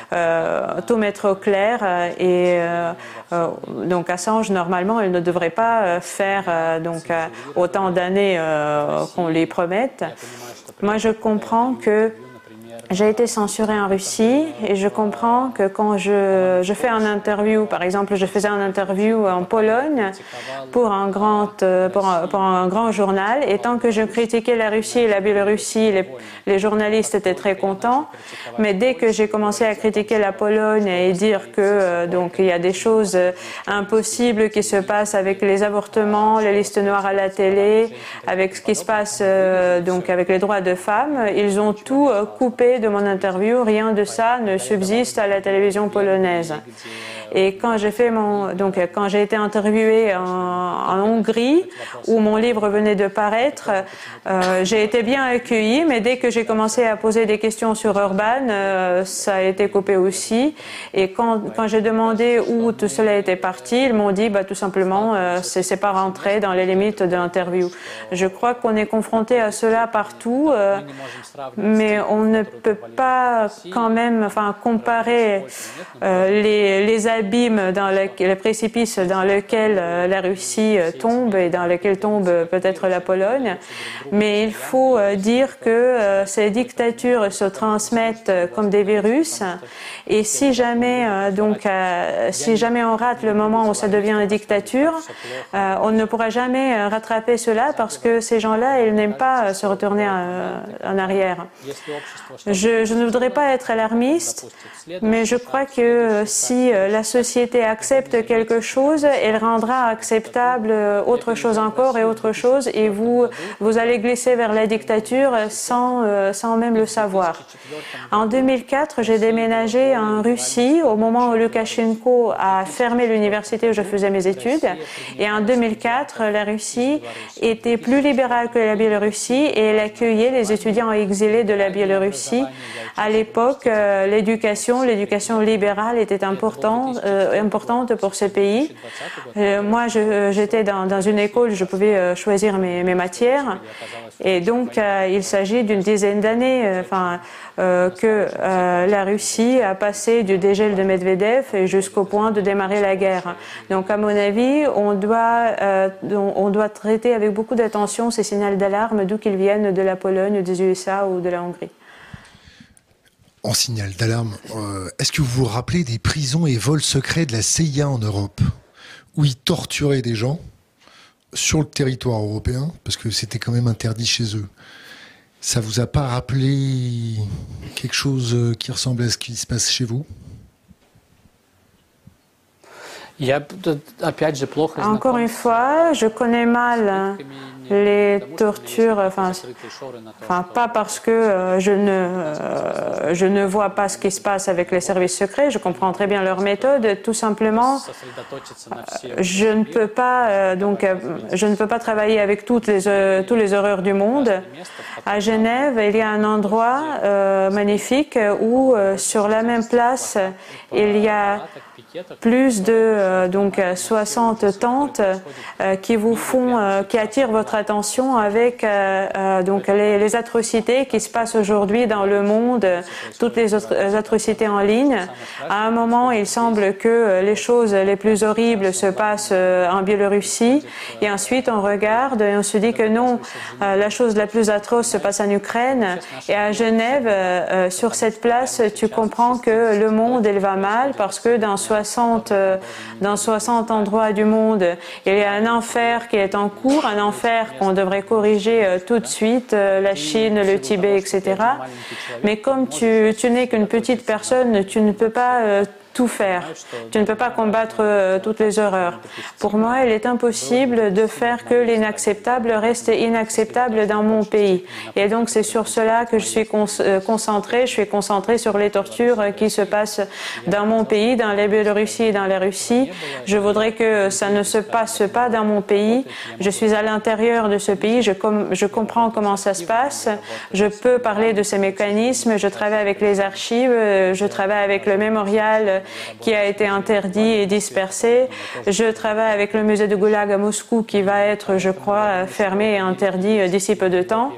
Speaker 3: euh, tout mettre au clair euh, et euh, euh, donc Assange normalement il ne devrait pas faire euh, donc euh, autant d'années euh, qu'on lui promette. Moi je comprends que j'ai été censurée en Russie et je comprends que quand je, je fais un interview, par exemple, je faisais un interview en Pologne pour un grand, pour un, pour un grand journal et tant que je critiquais la Russie et la Biélorussie, les, les journalistes étaient très contents. Mais dès que j'ai commencé à critiquer la Pologne et dire que euh, donc il y a des choses impossibles qui se passent avec les avortements, les listes noires à la télé, avec ce qui se passe euh, donc avec les droits de femmes, ils ont tout euh, coupé de mon interview, rien de ça ne subsiste à la télévision polonaise. Et quand j'ai fait mon, donc quand j'ai été interviewée en, en Hongrie, où mon livre venait de paraître, euh, j'ai été bien accueillie, mais dès que j'ai commencé à poser des questions sur Orban, euh, ça a été coupé aussi. Et quand, quand j'ai demandé où tout cela était parti, ils m'ont dit, bah, tout simplement, euh, c'est, c'est pas rentré dans les limites de l'interview. Je crois qu'on est confronté à cela partout, euh, mais on ne peut pas quand même, enfin, comparer euh, les, les abîmes dans le, le précipice dans lequel euh, la Russie euh, tombe et dans lequel tombe euh, peut-être la Pologne. Mais il faut euh, dire que euh, ces dictatures se transmettent euh, comme des virus. Et si jamais, euh, donc, euh, si jamais on rate le moment où ça devient une dictature, euh, on ne pourra jamais euh, rattraper cela parce que ces gens-là, ils n'aiment pas euh, se retourner en, en arrière. Je, je ne voudrais pas être alarmiste, mais je crois que euh, si euh, la société accepte quelque chose, elle rendra acceptable autre chose encore et autre chose, et vous, vous allez glisser vers la dictature sans, euh, sans même le savoir. En deux mille quatre, j'ai déménagé en Russie au moment où Loukachenko a fermé l'université où je faisais mes études, et en deux mille quatre, la Russie était plus libérale que la Biélorussie et elle accueillait les étudiants exilés de la Biélorussie. À l'époque, euh, l'éducation, l'éducation libérale était importante, euh, importante pour ce pays. Euh, moi, je, j'étais dans, dans une école, je pouvais euh, choisir mes, mes matières, et donc euh, il s'agit d'une dizaine d'années, euh, enfin, euh, que euh, la Russie a passé du dégel de Medvedev jusqu'au point de démarrer la guerre. Donc, à mon avis, on doit, euh, on doit traiter avec beaucoup d'attention ces signaux d'alarme, d'où qu'ils viennent, de la Pologne, des U S A ou de la Hongrie.
Speaker 1: En signal d'alarme, euh, est-ce que vous vous rappelez des prisons et vols secrets de la C I A en Europe, où ils torturaient des gens sur le territoire européen, parce que c'était quand même interdit chez eux? Ça vous a pas rappelé quelque chose qui ressemble à ce qui se passe chez vous?
Speaker 3: Encore une fois, je connais mal les tortures, enfin, enfin pas parce que euh, je, ne, euh, je ne vois pas ce qui se passe avec les services secrets, je comprends très bien leur méthode, tout simplement, euh, je ne peux pas, euh, donc, euh, je ne peux pas travailler avec toutes les, euh, tous les horreurs du monde. À Genève, il y a un endroit euh, magnifique où, euh, sur la même place, il y a plus de euh, donc soixante tentes euh, qui vous font, euh, qui attirent votre attention avec euh, euh, donc les, les atrocités qui se passent aujourd'hui dans le monde, toutes les autres atrocités en ligne. À un moment, il semble que les choses les plus horribles se passent euh, en Biélorussie, et ensuite on regarde et on se dit que non, euh, la chose la plus atroce se passe en Ukraine. Et à Genève, euh, sur cette place, tu comprends que le monde il va mal parce que dans soixante, euh, dans soixante endroits du monde, il y a un enfer qui est en cours, un enfer qu'on devrait corriger euh, tout de suite, euh, la Chine, le Tibet, et cetera. Mais comme tu, tu n'es qu'une petite personne, tu ne peux pas euh, tout faire. Tu ne peux pas combattre euh, toutes les horreurs. Pour moi, il est impossible de faire que l'inacceptable reste inacceptable dans mon pays. Et donc, c'est sur cela que je suis con euh, concentrée. Je suis concentrée sur les tortures euh, qui se passent dans mon pays, dans la Biélorussie et dans la Russie. Je voudrais que ça ne se passe pas dans mon pays. Je suis à l'intérieur de ce pays. Je, com je comprends comment ça se passe. Je peux parler de ces mécanismes. Je travaille avec les archives. Je travaille avec le mémorial qui a été interdit et dispersé. Je travaille avec le musée de Goulag à Moscou qui va être, je crois, fermé et interdit d'ici peu de temps.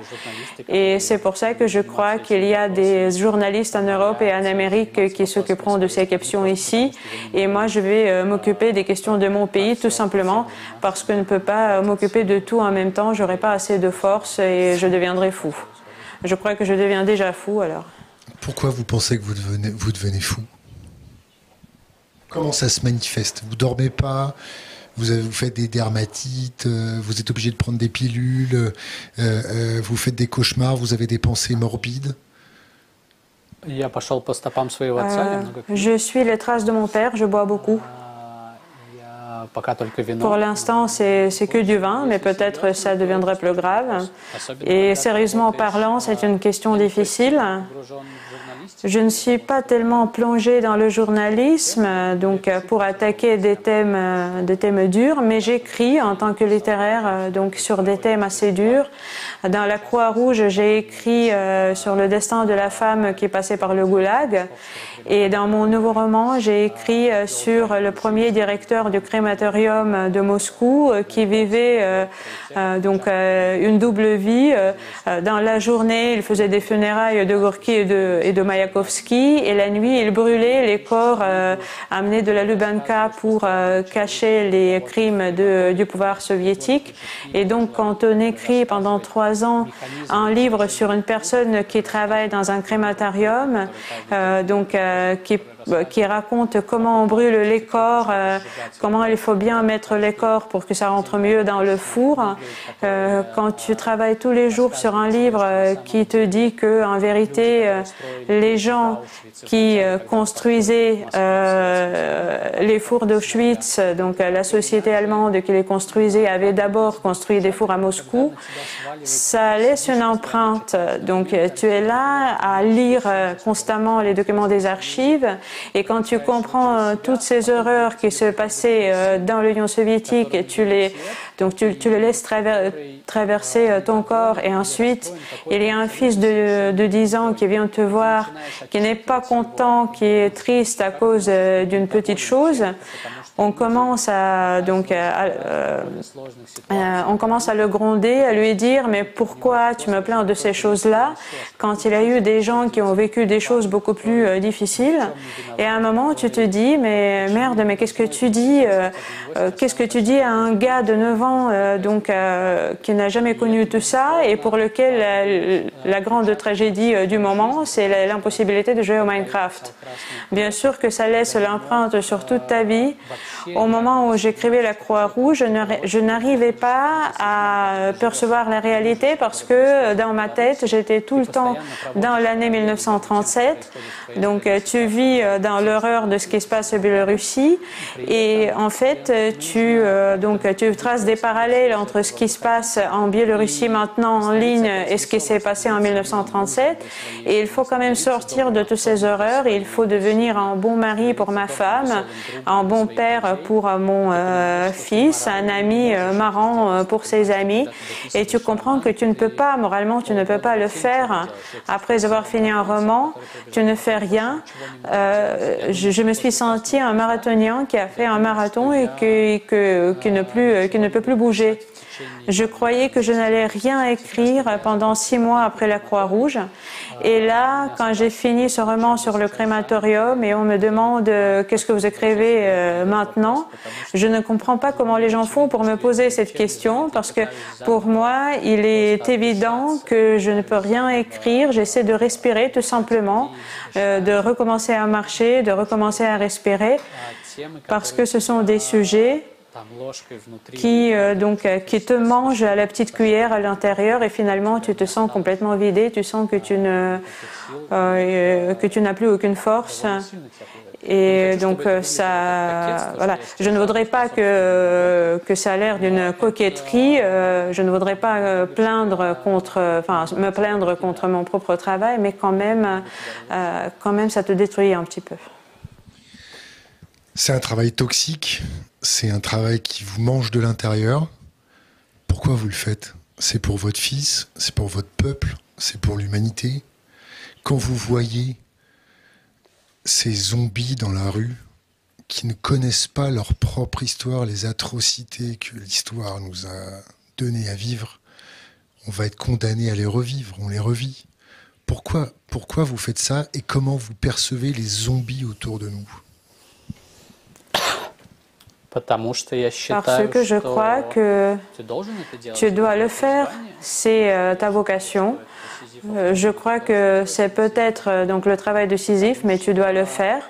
Speaker 3: Et c'est pour ça que je crois qu'il y a des journalistes en Europe et en Amérique qui s'occuperont de ces questions ici. Et moi, je vais m'occuper des questions de mon pays, tout simplement parce que je ne peux pas m'occuper de tout en même temps. Je n'aurai pas assez de force et je deviendrai fou. Je crois que je deviens déjà fou, alors.
Speaker 1: Pourquoi vous pensez que vous devenez, vous devenez fou ? Comment ça se manifeste? Vous dormez pas, vous, avez, vous faites des dermatites, euh, vous êtes obligé de prendre des pilules, euh, euh, vous faites des cauchemars, vous avez des pensées morbides?
Speaker 3: Euh, je suis les traces de mon père, je bois beaucoup. Pour l'instant, c'est que du vin, mais peut-être ça deviendrait plus grave. Et sérieusement parlant, c'est une question difficile. Je ne suis pas tellement plongée dans le journalisme, donc pour attaquer des thèmes, des thèmes durs, mais j'écris en tant que littéraire donc sur des thèmes assez durs. Dans la Croix-Rouge, j'ai écrit euh, sur le destin de la femme qui passait par le goulag. Et dans mon nouveau roman, j'ai écrit euh, sur le premier directeur du crématorium de Moscou euh, qui vivait euh, euh, donc euh, une double vie. Euh, dans la journée, il faisait des funérailles de Gorky et de, et de Mayakovsky, et la nuit, il brûlait les corps euh, amenés de la Lubyanka pour euh, cacher les crimes de, du pouvoir soviétique. Et donc, quand on écrit pendant trois ans un livre sur une personne qui travaille dans un crématorium, euh, donc euh, qui, qui raconte comment on brûle les corps, euh, comment il faut bien mettre les corps pour que ça rentre mieux dans le four. Euh, quand tu travailles tous les jours sur un livre euh, qui te dit que, en vérité, euh, les gens qui euh, construisaient euh, les fours d'Auschwitz, donc euh, la société allemande qui les construisait, avait d'abord construit des fours à Moscou, ça laisse une empreinte. Donc tu es là à lire euh, constamment les documents des archives, et quand tu comprends euh, toutes ces horreurs qui se passaient euh, dans l'Union soviétique, et tu les, donc tu, tu les laisses traver, traverser euh, ton corps, et ensuite il y a un fils de, de dix ans qui vient te voir, qui n'est pas content, qui est triste à cause euh, d'une petite chose. On commence à donc à, euh, euh, on commence à le gronder, à lui dire mais pourquoi tu me plains de ces choses-là quand il y a eu des gens qui ont vécu des choses beaucoup plus euh, difficiles. Et à un moment tu te dis mais merde, mais qu'est-ce que tu dis euh, euh, qu'est-ce que tu dis à un gars de neuf ans euh, donc euh, qui n'a jamais connu tout ça et pour lequel la, la grande tragédie euh, du moment c'est l'impossibilité de jouer au Minecraft. Bien sûr que ça laisse l'empreinte sur toute ta vie. Au moment où j'écrivais la Croix-Rouge, je n'arrivais pas à percevoir la réalité parce que dans ma tête, j'étais tout le temps dans l'année mille neuf cent trente-sept. Donc, tu vis dans l'horreur de ce qui se passe en Biélorussie et en fait, tu, donc, tu traces des parallèles entre ce qui se passe en Biélorussie maintenant en ligne et ce qui s'est passé en mille neuf cent trente-sept. Et il faut quand même sortir de toutes ces horreurs. Il faut devenir un bon mari pour ma femme, un bon père pour mon euh, fils, un ami euh, marrant euh, pour ses amis. Et tu comprends que tu ne peux pas, moralement, tu ne peux pas le faire. Après avoir fini un roman, tu ne fais rien. Euh, je, je me suis sentie un marathonien qui a fait un marathon et que, que, qui, ne plus, qui ne peut plus bouger. Je croyais que je n'allais rien écrire pendant six mois après la Croix-Rouge. Et là, quand j'ai fini ce roman sur le crématorium et on me demande euh, qu'est-ce que vous écrivez euh, maintenant, je ne comprends pas comment les gens font pour me poser cette question parce que pour moi, il est évident que je ne peux rien écrire. J'essaie de respirer tout simplement, euh, de recommencer à marcher, de recommencer à respirer parce que ce sont des sujets qui, euh, donc, euh, qui te mange à la petite cuillère à l'intérieur et finalement tu te sens complètement vidé, tu sens que tu ne, euh, que tu n'as plus aucune force. Et donc euh, ça, voilà. Je ne voudrais pas que que ça a l'air d'une coquetterie. Euh, je ne voudrais pas euh, plaindre contre, enfin me plaindre contre mon propre travail, mais quand même, euh, quand même, ça te détruit un petit peu.
Speaker 1: C'est un travail toxique. C'est un travail qui vous mange de l'intérieur. Pourquoi vous le faites? C'est pour votre fils, c'est pour votre peuple, c'est pour l'humanité. Quand vous voyez ces zombies dans la rue qui ne connaissent pas leur propre histoire, les atrocités que l'histoire nous a données à vivre, on va être condamné à les revivre, on les revit. Pourquoi, pourquoi vous faites ça et comment vous percevez les zombies autour de nous?
Speaker 3: Parce que je crois que tu dois le faire, c'est euh, ta vocation. Euh, je crois que c'est peut-être euh, donc le travail de Sisyphe, mais tu dois le faire.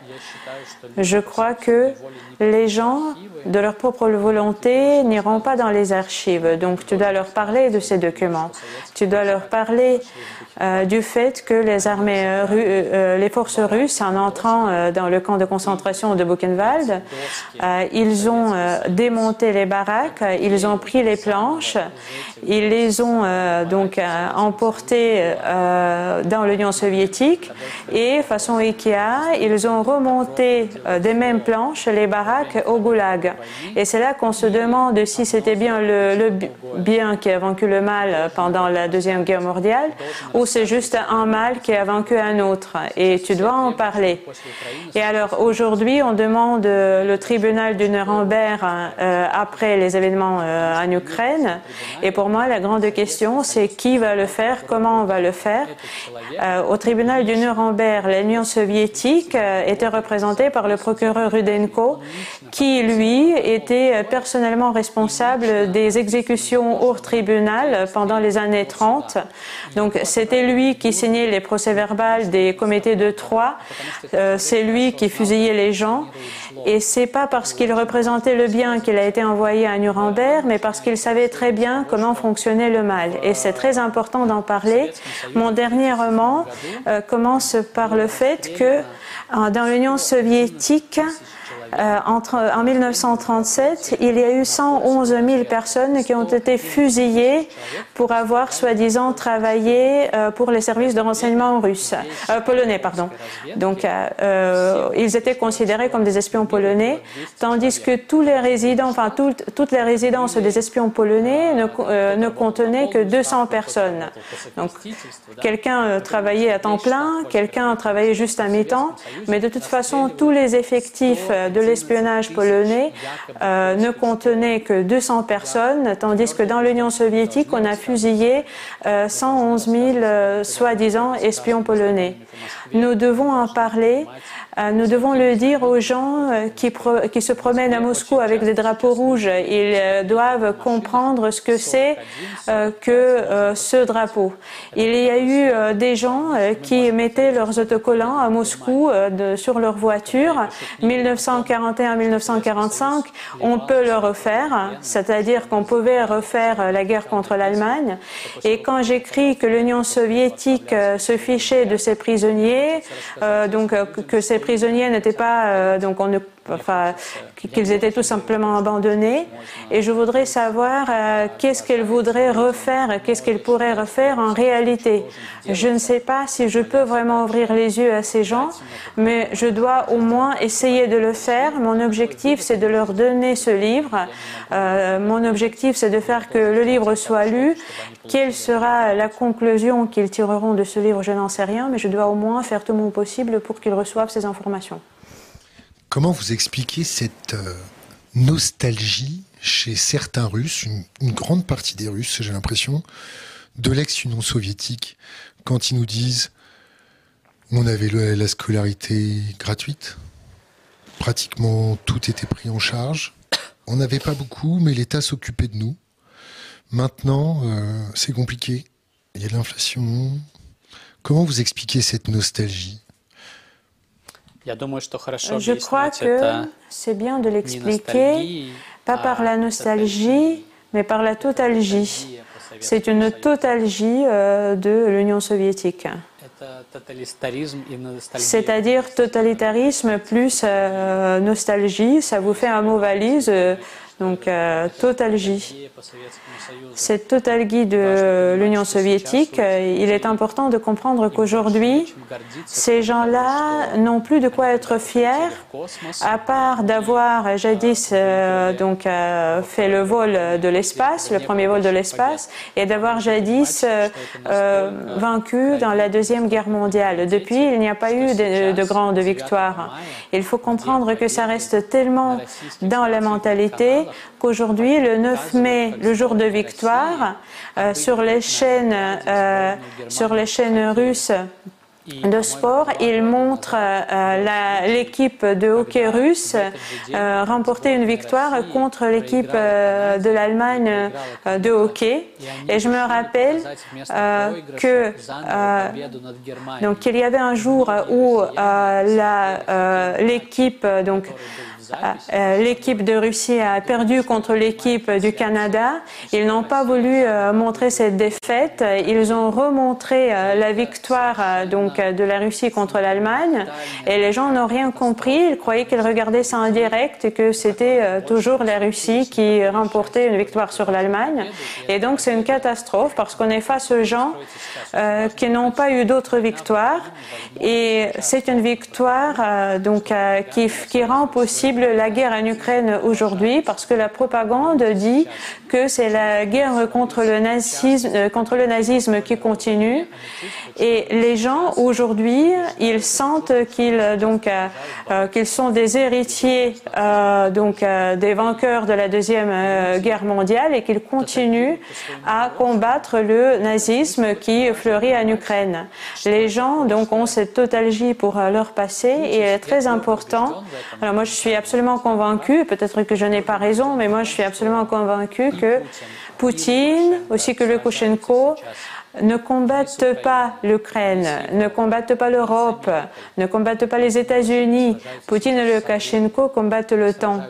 Speaker 3: Je crois que les gens, de leur propre volonté, n'iront pas dans les archives. Donc tu dois leur parler de ces documents. Tu dois leur parler euh, du fait que les armées, euh, euh, les forces russes, en entrant euh, dans le camp de concentration de Buchenwald, euh, ils ont euh, démonté les baraques, ils ont pris les planches, ils les ont euh, donc euh, emportées euh, dans l'Union soviétique et, façon Ikea, ils ont remonté euh, des mêmes planches les baraques au Goulag. Et c'est là qu'on se demande si c'était bien le, le bien qui a vaincu le mal pendant la Deuxième Guerre mondiale ou c'est juste un mal qui a vaincu un autre. Et tu dois en parler. Et alors aujourd'hui, on demande le tribunal de Nuremberg euh, après les événements euh, en Ukraine. Et pour moi, la grande question, c'est qui va le faire, comment on va le faire. Euh, au tribunal de Nuremberg, l'Union soviétique euh, était représentée par le procureur Rudenko, qui, lui, était personnellement responsable des exécutions hors tribunal pendant les années trente. Donc, c'était lui qui signait les procès-verbales des comités de Troyes. Euh, c'est lui qui fusillait les gens. Et c'est pas parce qu'il représentait le bien qu'il a été envoyé à Nuremberg, mais parce qu'il savait très bien comment fonctionnait le mal. Et c'est très important d'en parler. Mon dernier roman euh, commence par le fait que euh, dans l'Union soviétique, Euh, entre, en mille neuf cent trente-sept, il y a eu cent onze mille personnes qui ont été fusillées pour avoir soi-disant travaillé euh, pour les services de renseignement russes, euh, polonais, pardon. Donc, euh, ils étaient considérés comme des espions polonais, tandis que tous les résidents, enfin tout, toutes les résidences des espions polonais ne, euh, ne contenaient que deux cents personnes. Donc, quelqu'un euh, travaillait à temps plein, quelqu'un travaillait juste à mi-temps, mais de toute façon, tous les effectifs de l'espionnage polonais euh, ne contenait que deux cents personnes, tandis que dans l'Union soviétique, on a fusillé euh, cent onze mille euh, soi-disant espions polonais. Nous devons en parler. Euh, nous devons le dire aux gens euh, qui, pro qui se promènent à Moscou avec des drapeaux rouges. Ils euh, doivent comprendre ce que c'est euh, que euh, ce drapeau. Il y a eu euh, des gens euh, qui mettaient leurs autocollants à Moscou euh, de, sur leur voiture. mille neuf cent quarante et un à mille neuf cent quarante-cinq, on peut le refaire, c'est-à-dire qu'on pouvait refaire la guerre contre l'Allemagne. Et quand j'écris que l'Union soviétique se fichait de ses prisonniers, euh, donc que ces prisonniers n'étaient pas, euh, donc on ne enfin, qu'ils étaient tout simplement abandonnés. Et je voudrais savoir euh, qu'est-ce qu'ils voudraient refaire, qu'est-ce qu'ils pourraient refaire en réalité. Je ne sais pas si je peux vraiment ouvrir les yeux à ces gens, mais je dois au moins essayer de le faire. Mon objectif, c'est de leur donner ce livre. Euh, mon objectif, c'est de faire que le livre soit lu. Quelle sera la conclusion qu'ils tireront de ce livre, je n'en sais rien, mais je dois au moins faire tout mon possible pour qu'ils reçoivent ces informations.
Speaker 1: Comment vous expliquez cette euh, nostalgie chez certains Russes, une, une grande partie des Russes, j'ai l'impression, de l'ex-Union soviétique, quand ils nous disent on avait le, la scolarité gratuite, pratiquement tout était pris en charge, on n'avait pas beaucoup, mais l'État s'occupait de nous. Maintenant, euh, c'est compliqué, il y a de l'inflation. Comment vous expliquez cette nostalgie ?
Speaker 3: Je crois que c'est bien de l'expliquer, pas par la nostalgie, mais par la totalgie. C'est une totalgie euh, de l'Union soviétique. C'est-à-dire totalitarisme plus euh, nostalgie, ça vous fait un mot valise, euh, donc euh, totalgie. Cette totalgie de l'Union soviétique, il est important de comprendre qu'aujourd'hui, ces gens-là n'ont plus de quoi être fiers, à part d'avoir jadis euh, donc, euh, fait le vol de l'espace, le premier vol de l'espace, et d'avoir jadis euh, euh, vaincu dans la Deuxième Guerre mondiale. Depuis, il n'y a pas eu de, de grandes victoires. Il faut comprendre que ça reste tellement dans la mentalité qu'aujourd'hui, le neuf mai, le jour de victoire, euh, sur les chaînes, euh, sur les chaînes russes de sport, il montre euh, l'équipe de hockey russe euh, remporter une victoire contre l'équipe euh, de l'Allemagne euh, de hockey. Et je me rappelle euh, que euh, donc il y avait un jour où euh, l'équipe donc Euh, l'équipe de Russie a perdu contre l'équipe du Canada. Ils n'ont pas voulu euh, montrer cette défaite. Ils ont remontré euh, la victoire euh, donc, de la Russie contre l'Allemagne. Et les gens n'ont rien compris. Ils croyaient qu'ils regardaient ça en direct et que c'était euh, toujours la Russie qui remportait une victoire sur l'Allemagne. Et donc c'est une catastrophe parce qu'on est face aux gens euh, qui n'ont pas eu d'autres victoires. Et c'est une victoire euh, donc, euh, qui, qui rend possible la guerre en Ukraine aujourd'hui parce que la propagande dit que c'est la guerre contre le nazisme, contre le nazisme qui continue. Et les gens aujourd'hui, ils sentent qu'ils donc euh, qu'ils sont des héritiers euh, donc euh, des vainqueurs de la deuxième euh, guerre mondiale et qu'ils continuent à combattre le nazisme qui fleurit en Ukraine. Les gens donc ont cette totalgie pour euh, leur passé et il est très important. Alors moi je suis absolument convaincue, peut-être que je n'ai pas raison, mais moi je suis absolument convaincue que Poutine, aussi que Loukachenko, ne combattent pas l'Ukraine, ne combattent pas l'Europe, ne combattent pas les États-Unis. Poutine et Loukachenko combattent le temps.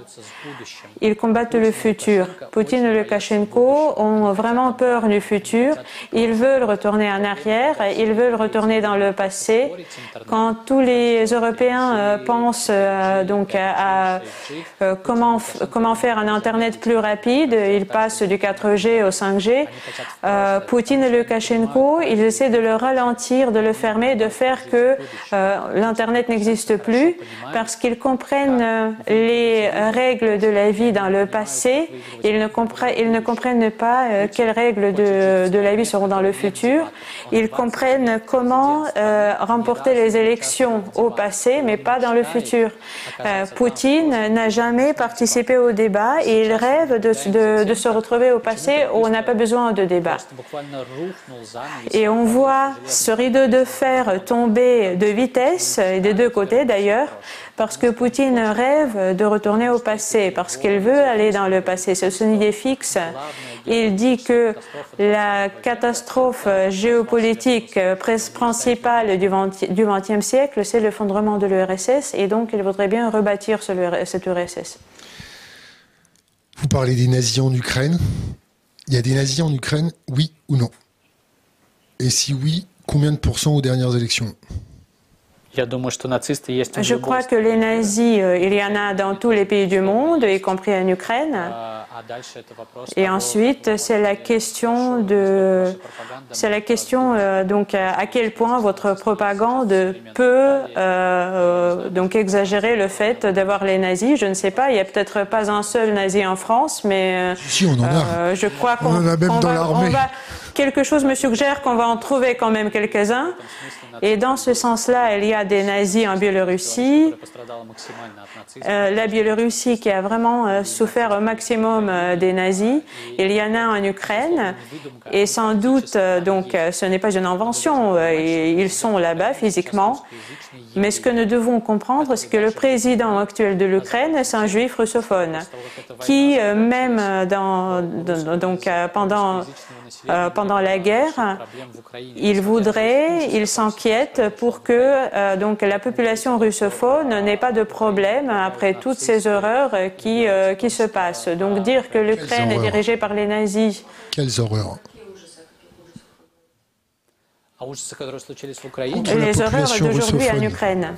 Speaker 3: Ils combattent le futur. Poutine et Loukachenko ont vraiment peur du futur. Ils veulent retourner en arrière, ils veulent retourner dans le passé. Quand tous les Européens euh, pensent euh, donc à euh, comment, comment faire un Internet plus rapide, ils passent du quatre G au cinq G. Euh, Poutine et Loukachenko, ils essaient de le ralentir, de le fermer, de faire que euh, l'Internet n'existe plus parce qu'ils comprennent euh, les règles de la vie dans le passé. Ils ne comprennent, ils ne comprennent pas euh, quelles règles de, de la vie seront dans le futur. Ils comprennent comment euh, remporter les élections au passé, mais pas dans le futur. Euh, Poutine n'a jamais participé au débat et il rêve de, de, de se retrouver au passé où on n'a pas besoin de débat. Et on voit ce rideau de fer tomber de vitesse, et des deux côtés d'ailleurs, parce que Poutine rêve de retourner au passé, parce qu'il veut aller dans le passé. C'est son idée fixe. Il dit que la catastrophe géopolitique principale du vingtième siècle, c'est l'effondrement de l'U R S S, et donc il voudrait bien rebâtir cette U R S S.
Speaker 1: Vous parlez des nazis en Ukraine. Il y a des nazis en Ukraine, oui ou non? Et si oui, combien de pourcents aux dernières élections?
Speaker 3: Je crois que les nazis, il y en a dans tous les pays du monde, y compris en Ukraine. Et ensuite, c'est la question de, c'est la question euh, donc à quel point votre propagande peut euh, donc exagérer le fait d'avoir les nazis. Je ne sais pas, il n'y a peut-être pas un seul nazi en France, mais
Speaker 1: si, on en a.
Speaker 3: Euh, je crois qu'on
Speaker 1: en a même
Speaker 3: on
Speaker 1: dans
Speaker 3: va,
Speaker 1: l'armée.
Speaker 3: Quelque chose me suggère qu'on va en trouver quand même quelques-uns. Et dans ce sens-là, il y a des nazis en Biélorussie. Euh, la Biélorussie qui a vraiment euh, souffert au maximum euh, des nazis. Il y en a en Ukraine. Et sans doute, euh, donc, euh, ce n'est pas une invention. Euh, ils sont là-bas physiquement. Mais ce que nous devons comprendre, c'est que le président actuel de l'Ukraine, c'est un juif russophone, qui, euh, même dans, dans, donc, euh, pendant, euh, pendant la guerre, il voudrait, il s'inquiète pour que euh, donc, la population russophone n'ait pas de problème après toutes ces horreurs qui, euh, qui se passent. Donc dire que l'Ukraine est dirigée par les nazis.
Speaker 1: Quelles horreurs!
Speaker 3: Les horreurs d'aujourd'hui en Ukraine.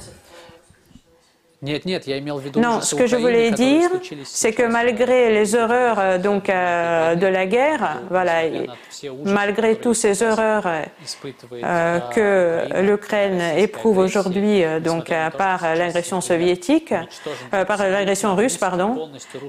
Speaker 3: Non, ce que je voulais dire, c'est que malgré les horreurs donc, euh, de la guerre, voilà, malgré toutes ces horreurs euh, que l'Ukraine éprouve aujourd'hui, euh, donc euh, par l'agression soviétique, euh, par l'agression russe, pardon,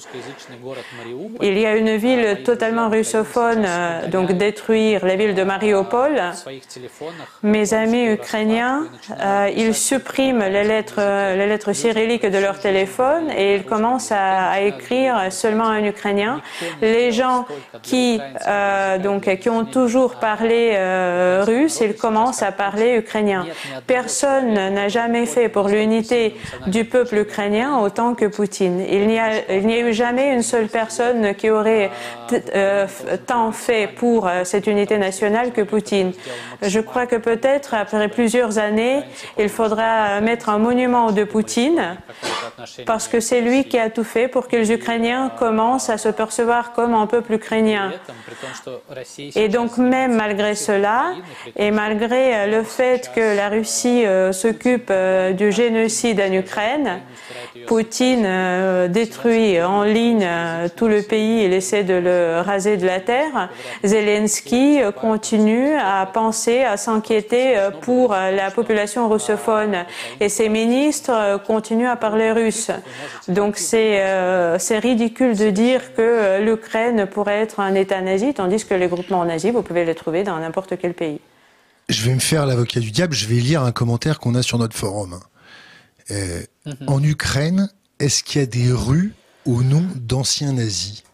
Speaker 3: il y a une ville totalement russophone, euh, donc détruire la ville de Mariupol. Mes amis ukrainiens, euh, ils suppriment les lettres, les lettres cyrilliques de leur téléphone et ils commencent à, à écrire seulement en ukrainien. Les gens qui, euh, donc, qui ont toujours parlé euh, russe, ils commencent à parler ukrainien. Personne n'a jamais fait pour l'unité du peuple ukrainien autant que Poutine. Il n'y a, il n'y a eu jamais une seule personne qui aurait euh, tant fait pour euh, cette unité nationale que Poutine. Je crois que peut-être après plusieurs années, il faudra mettre un monument de Poutine parce que c'est lui qui a tout fait pour que les Ukrainiens commencent à se percevoir comme un peuple ukrainien. Et donc même malgré cela, et malgré le fait que la Russie euh, s'occupe euh, du génocide en Ukraine, Poutine euh, détruit en ligne euh, tout le pays, il essaie de le raser de la terre. Zelensky euh, continue à penser, à s'inquiéter euh, pour euh, la population russophone et ses ministres euh, continuent à parler russe. Donc c'est euh, c'est ridicule de dire que euh, l'Ukraine pourrait être un État nazi, tandis que les groupements nazis, vous pouvez les trouver dans n'importe quel pays.
Speaker 1: Je vais me faire l'avocat du diable, je vais lire un commentaire qu'on a sur notre forum. Euh, mm-hmm. En Ukraine, est-ce qu'il y a des rues au nom d'anciens nazis?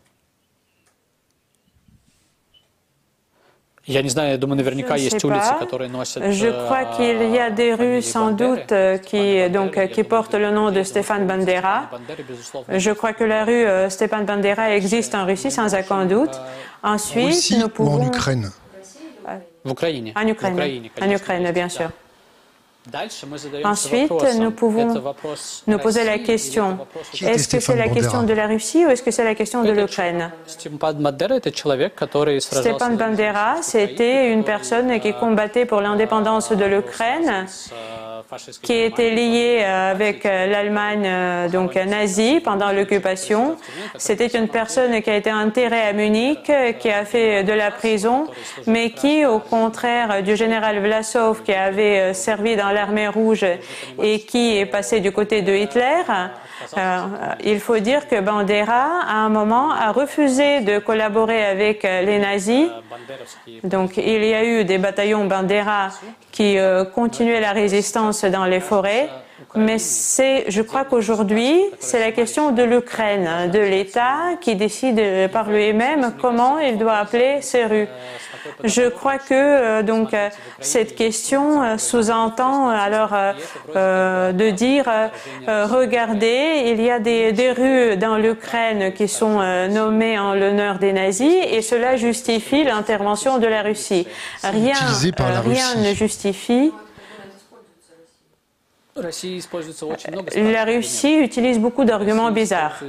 Speaker 2: Je
Speaker 3: crois qu'il y a des rues sans doute qui, donc, qui portent le nom de Stéphane Bandera. Je crois que la rue Stéphane Bandera existe en Russie sans aucun doute. Ensuite,
Speaker 1: Russie
Speaker 3: nous pouvons...
Speaker 1: ou en Ukraine?
Speaker 3: En Ukraine, en Ukraine, bien sûr. Ensuite, nous pouvons nous poser la question, est-ce que c'est la question de la Russie ou est-ce que c'est la question de l'Ukraine? Stéphane Bandera, c'était une personne qui combattait pour l'indépendance de l'Ukraine, qui était liée avec l'Allemagne donc nazie pendant l'occupation. C'était une personne qui a été enterrée à Munich, qui a fait de la prison, mais qui, au contraire du général Vlasov, qui avait servi dans l'armée rouge et qui est passé du côté de Hitler, euh, il faut dire que Bandera, à un moment, a refusé de collaborer avec les nazis. Donc, il y a eu des bataillons Bandera qui euh, continuaient la résistance dans les forêts. Mais c'est, je crois qu'aujourd'hui, c'est la question de l'Ukraine, de l'État qui décide par lui-même comment il doit appeler ces rues. Je crois que euh, donc euh, cette question euh, sous-entend alors euh, euh, de dire euh, regardez, il y a des, des rues dans l'Ukraine qui sont euh, nommées en l'honneur des nazis et cela justifie l'intervention de la Russie. Rien, euh, rien ne justifie. La Russie utilise beaucoup d'arguments bizarres.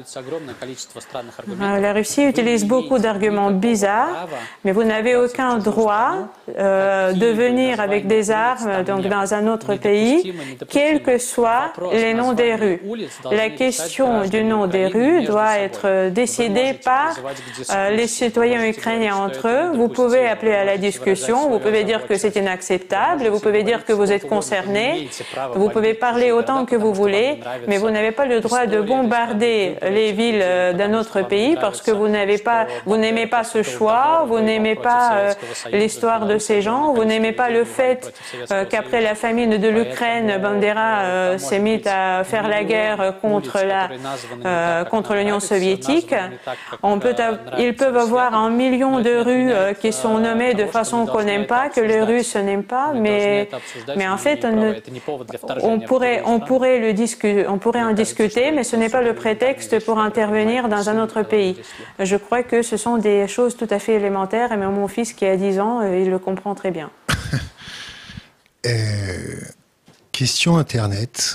Speaker 3: La Russie utilise beaucoup d'arguments bizarres, mais vous n'avez aucun droit euh, de venir avec des armes donc dans un autre pays, quels que soient les noms des rues. La question du nom des rues doit être décidée par euh, les citoyens ukrainiens entre eux. Vous pouvez appeler à la discussion, vous pouvez dire que c'est inacceptable, vous pouvez dire que vous êtes concerné, vous pouvez parler autant que vous voulez, mais vous n'avez pas le droit de bombarder les villes d'un autre pays parce que vous n'avez pas, vous n'aimez pas ce choix, vous n'aimez pas euh, l'histoire de ces gens, vous n'aimez pas le fait euh, qu'après la famine de l'Ukraine, Bandera euh, s'est mis à faire la guerre contre la, euh, contre l'Union soviétique. On peut, ils peuvent avoir un million de rues euh, qui sont nommées de façon qu'on n'aime pas, que les Russes n'aiment pas, mais, mais en fait, on, ne, on pourrait On pourrait, le discu on pourrait en discuter, mais ce n'est pas le prétexte pour intervenir dans un autre pays. Je crois que ce sont des choses tout à fait élémentaires, et même mon fils qui a dix ans, il le comprend très bien.
Speaker 1: euh, question Internet.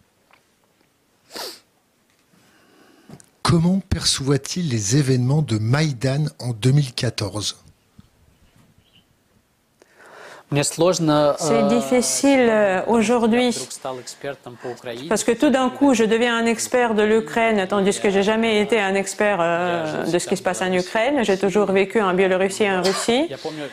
Speaker 1: Comment perçoit-il les événements de Maïdan en deux mille quatorze ?
Speaker 3: C'est difficile aujourd'hui parce que tout d'un coup je deviens un expert de l'Ukraine tandis que j'ai jamais été un expert euh, de ce qui se passe en Ukraine. J'ai toujours vécu en Biélorussie et en Russie.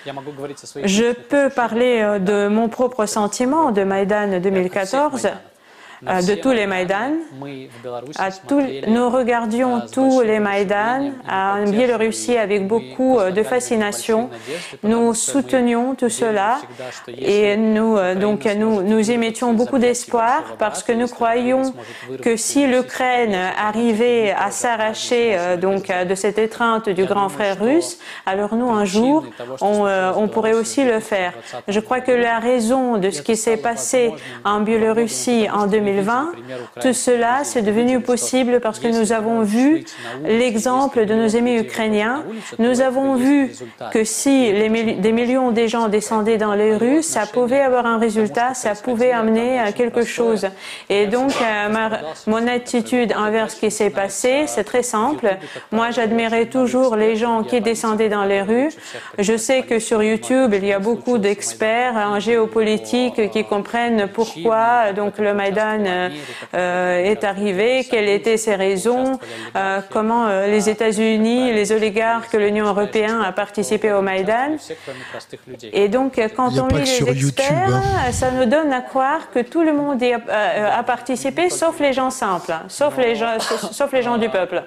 Speaker 3: Je peux parler de mon propre sentiment de Maïdan deux mille quatorze. De tous les Maïdan. À tout, nous regardions tous les Maïdan en Biélorussie avec beaucoup de fascination. Nous soutenions tout cela et nous, donc, nous, nous y mettions beaucoup d'espoir parce que nous croyions que si l'Ukraine arrivait à s'arracher donc de cette étreinte du grand frère russe, alors nous, un jour, on, on pourrait aussi le faire. Je crois que la raison de ce qui s'est passé en Biélorussie en deux mille vingt, tout cela, c'est devenu possible parce que nous avons vu l'exemple de nos amis ukrainiens. Nous avons vu que si les milli- des millions de gens descendaient dans les rues, ça pouvait avoir un résultat, ça pouvait amener à quelque chose. Et donc, euh, ma, mon attitude envers ce qui s'est passé, c'est très simple. Moi, j'admirais toujours les gens qui descendaient dans les rues. Je sais que sur YouTube, il y a beaucoup d'experts en géopolitique qui comprennent pourquoi donc le Maïdan euh, est arrivé, quelles étaient ses raisons, euh, comment euh, les États-Unis, les oligarques, l'Union européenne a participé au Maïdan. Et donc, quand on lit les experts, YouTube, hein. Ça nous donne à croire que tout le monde y a, euh, a participé, sauf les gens simples, sauf les gens, sauf les gens du peuple.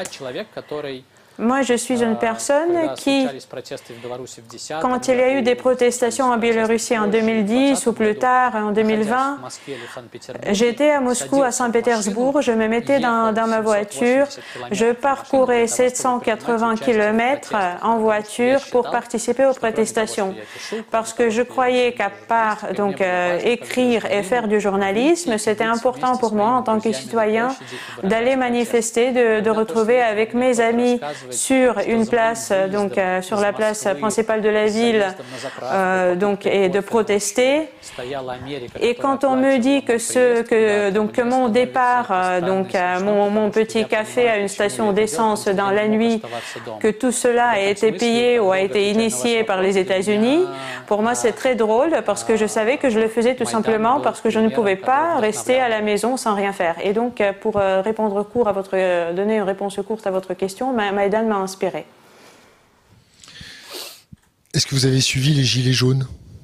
Speaker 3: Moi, je suis une personne qui, quand il y a eu des protestations en Biélorussie en deux mille dix ou plus tard en deux mille vingt, j'étais à Moscou, à Saint-Pétersbourg, je me mettais dans, dans ma voiture, je parcourais sept cent quatre-vingts kilomètres en voiture pour participer aux protestations. Parce que je croyais qu'à part donc, euh, écrire et faire du journalisme, c'était important pour moi en tant que citoyen d'aller manifester, de, de retrouver avec mes amis sur une place, donc euh, sur la place principale de la ville, euh, donc et de protester. Et quand on me dit que ce que donc que mon départ, euh, donc euh, mon, mon petit café à une station d'essence dans la nuit, que tout cela a été payé ou a été initié par les États-Unis, pour moi c'est très drôle parce que je savais que je le faisais tout simplement parce que je ne pouvais pas rester à la maison sans rien faire. Et donc pour euh, répondre court à votre, euh, donner une réponse courte à votre question, Maïdan m'a inspiré.
Speaker 1: Est-ce que vous avez suivi les Gilets jaunes ?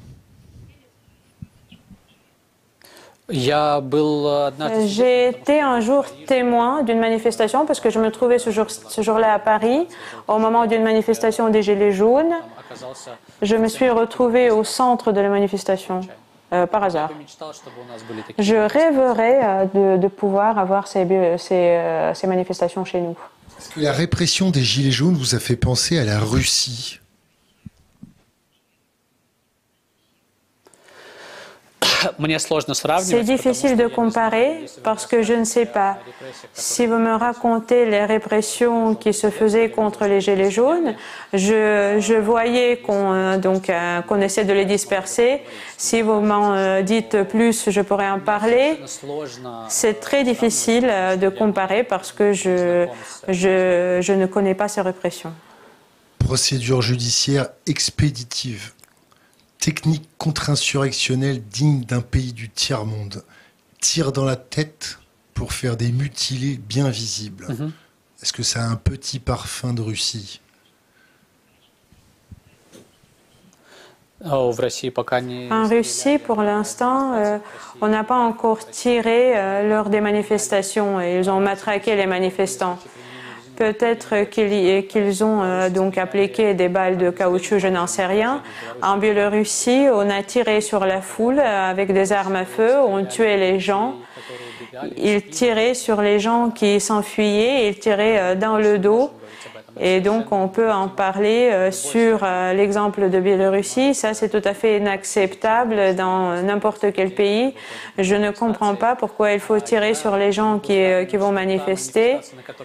Speaker 3: J'ai été un jour témoin d'une manifestation parce que je me trouvais ce jour, ce jour-là à Paris au moment d'une manifestation des Gilets jaunes. Je me suis retrouvée au centre de la manifestation. euh, par hasard. Je rêverais euh, de, de pouvoir avoir ces, ces, euh, ces manifestations chez nous.
Speaker 1: Est-ce que la répression des Gilets jaunes vous a fait penser à la Russie ?
Speaker 3: C'est difficile de comparer parce que je ne sais pas. Si vous me racontez les répressions qui se faisaient contre les Gilets jaunes, je, je voyais qu'on donc euh, qu'on essaie de les disperser. Si vous m'en euh, dites plus, je pourrais en parler. C'est très difficile euh, de comparer parce que je, je, je ne connais pas ces répressions.
Speaker 1: Procédure judiciaire expéditive. Technique contre-insurrectionnelle digne d'un pays du tiers-monde. Tir dans la tête pour faire des mutilés bien visibles. Mm-hmm. Est-ce que ça a un petit parfum de Russie ?
Speaker 3: En Russie, pour l'instant, euh, on n'a pas encore tiré euh, lors des manifestations. Ils ont matraqué les manifestants. Peut-être qu'ils qu'ils ont euh, donc appliqué des balles de caoutchouc, je n'en sais rien. En Biélorussie, on a tiré sur la foule avec des armes à feu, on tuait les gens. Ils tiraient sur les gens qui s'enfuyaient, ils tiraient euh, dans le dos. Et donc, on peut en parler euh, sur euh, l'exemple de Biélorussie. Ça, c'est tout à fait inacceptable dans n'importe quel pays. Je ne comprends pas pourquoi il faut tirer sur les gens qui, euh, qui vont manifester.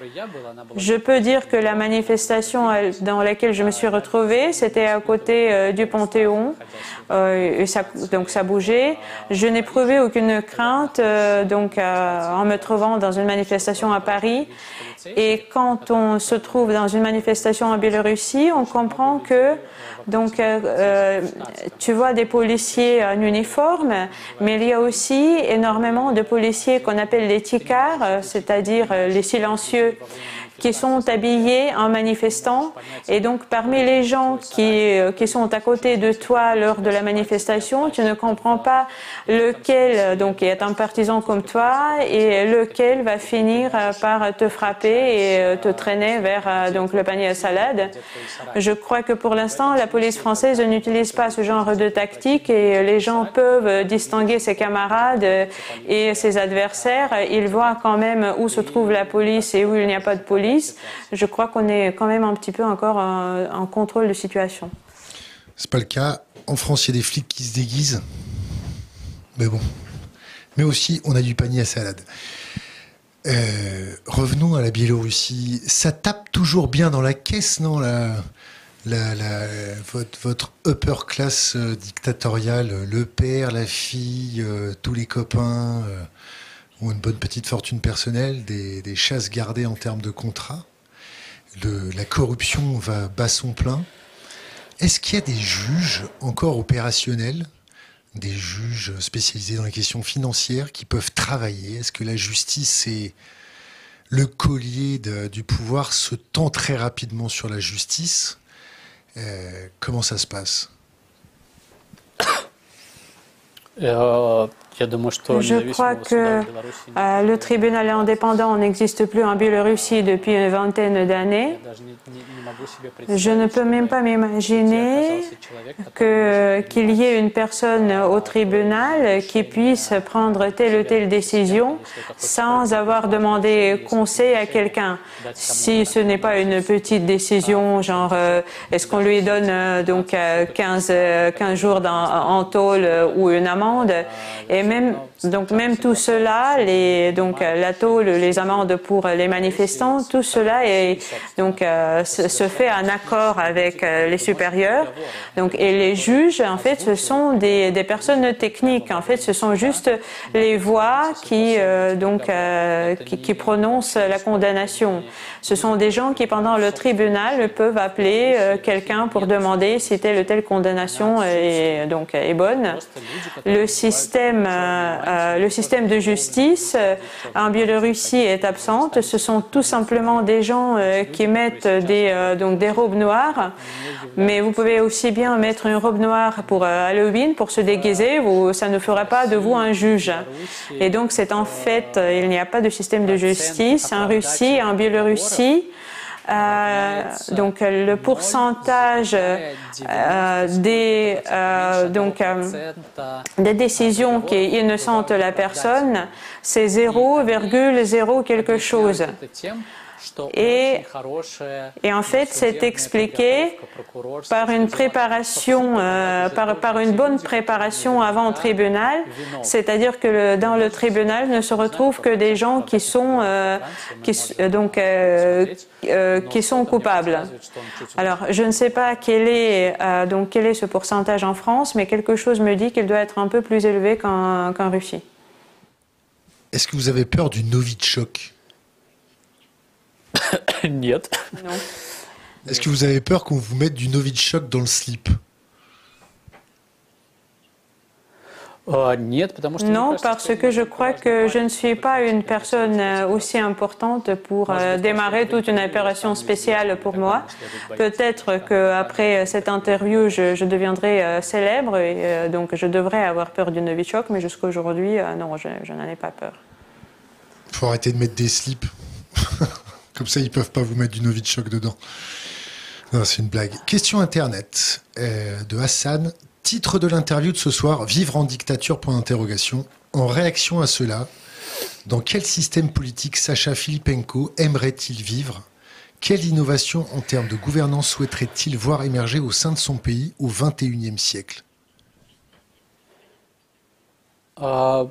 Speaker 3: Je peux dire que la manifestation dans laquelle je me suis retrouvée, c'était à côté euh, du Panthéon. Euh, et ça, donc, ça bougeait. Je n'éprouvais aucune crainte euh, donc, euh, en me trouvant dans une manifestation à Paris. Et quand on se trouve dans une manifestation en Biélorussie, on comprend que donc euh, tu vois des policiers en uniforme, mais il y a aussi énormément de policiers qu'on appelle les tikards, c'est-à-dire les silencieux, qui sont habillés en manifestants. Et donc, parmi les gens qui, qui sont à côté de toi lors de la manifestation, tu ne comprends pas lequel donc, est un partisan comme toi et lequel va finir par te frapper et te traîner vers donc, le panier à salade. Je crois que pour l'instant, la police française n'utilise pas ce genre de tactique et les gens peuvent distinguer ses camarades et ses adversaires. Ils voient quand même où se trouve la police et où il n'y a pas de police. Je crois qu'on est quand même un petit peu encore en, en contrôle de situation.
Speaker 1: C'est pas le cas. En France, il y a des flics qui se déguisent. Mais bon. Mais aussi, on a du panier à salade. Euh, revenons à la Biélorussie. Ça tape toujours bien dans la caisse, non la, la, la, votre, votre upper class euh, dictatoriale, le père, la fille, euh, tous les copains... Euh, ont une bonne petite fortune personnelle, des, des chasses gardées en termes de contrats. Le, la corruption va bas son plein. Est-ce qu'il y a des juges encore opérationnels, des juges spécialisés dans les questions financières qui peuvent travailler? Est-ce que la justice et le collier de, du pouvoir se tend très rapidement sur la justice? euh, Comment ça se passe?
Speaker 2: euh...
Speaker 3: Je crois que euh, le tribunal indépendant n'existe plus en Biélorussie depuis une vingtaine d'années. Je ne peux même pas m'imaginer que, qu'il y ait une personne au tribunal qui puisse prendre telle ou telle décision sans avoir demandé conseil à quelqu'un. Si ce n'est pas une petite décision, genre euh, est-ce qu'on lui donne euh, donc euh, quinze, quinze jours en tôle euh, ou une amende, et même, donc même tout cela, les, donc la tôle, les amendes pour les manifestants, tout cela est, donc, euh, se, se fait en accord avec euh, les supérieurs. Donc, et les juges, en fait, ce sont des, des personnes techniques. En fait, ce sont juste les voix qui, euh, donc, euh, qui, qui prononcent la condamnation. Ce sont des gens qui, pendant le tribunal, peuvent appeler euh, quelqu'un pour demander si telle ou telle condamnation est, donc, est bonne. Le système Euh, le système de justice euh, en Biélorussie est absente. Ce sont tout simplement des gens euh, qui mettent des, euh, donc des robes noires, mais vous pouvez aussi bien mettre une robe noire pour euh, Halloween, pour se déguiser, vous, ça ne fera pas de vous un juge. Et donc c'est en fait, il n'y a pas de système de justice en Russie, en Biélorussie. Euh, donc le pourcentage euh, des, euh, donc, euh, des décisions qui innocentent la personne, c'est zéro virgule zéro quelque chose. Et, et en fait, c'est expliqué par une préparation, euh, par, par une bonne préparation avant le tribunal, c'est-à-dire que le, dans le tribunal ne se retrouvent que des gens qui sont, euh, qui, donc, euh, euh, qui sont coupables. Alors, je ne sais pas quel est, euh, donc, quel est ce pourcentage en France, mais quelque chose me dit qu'il doit être un peu plus élevé qu'en qu'en Russie.
Speaker 1: Est-ce que vous avez peur du Novichok ?
Speaker 2: Нет.
Speaker 3: Non.
Speaker 1: Est-ce que vous avez peur qu'on vous mette du Novichok dans le slip?
Speaker 3: Non, parce que je crois que je ne suis pas une personne aussi importante pour démarrer toute une opération spéciale pour moi. Peut-être qu'après cette interview, je, je deviendrai célèbre et donc je devrais avoir peur du Novichok, mais jusqu'à aujourd'hui, non, je, je n'en ai pas peur.
Speaker 1: Il faut arrêter de mettre des slips. Comme ça, ils ne peuvent pas vous mettre du Novichok dedans. Non, c'est une blague. Question Internet euh, de Hassan. Titre de l'interview de ce soir, Vivre en dictature, point d'interrogation. En réaction à cela, dans quel système politique Sacha Filipenko aimerait-il vivre? Quelle innovation en termes de gouvernance souhaiterait-il voir émerger au sein de son pays au vingt et unième siècle?
Speaker 2: Euh,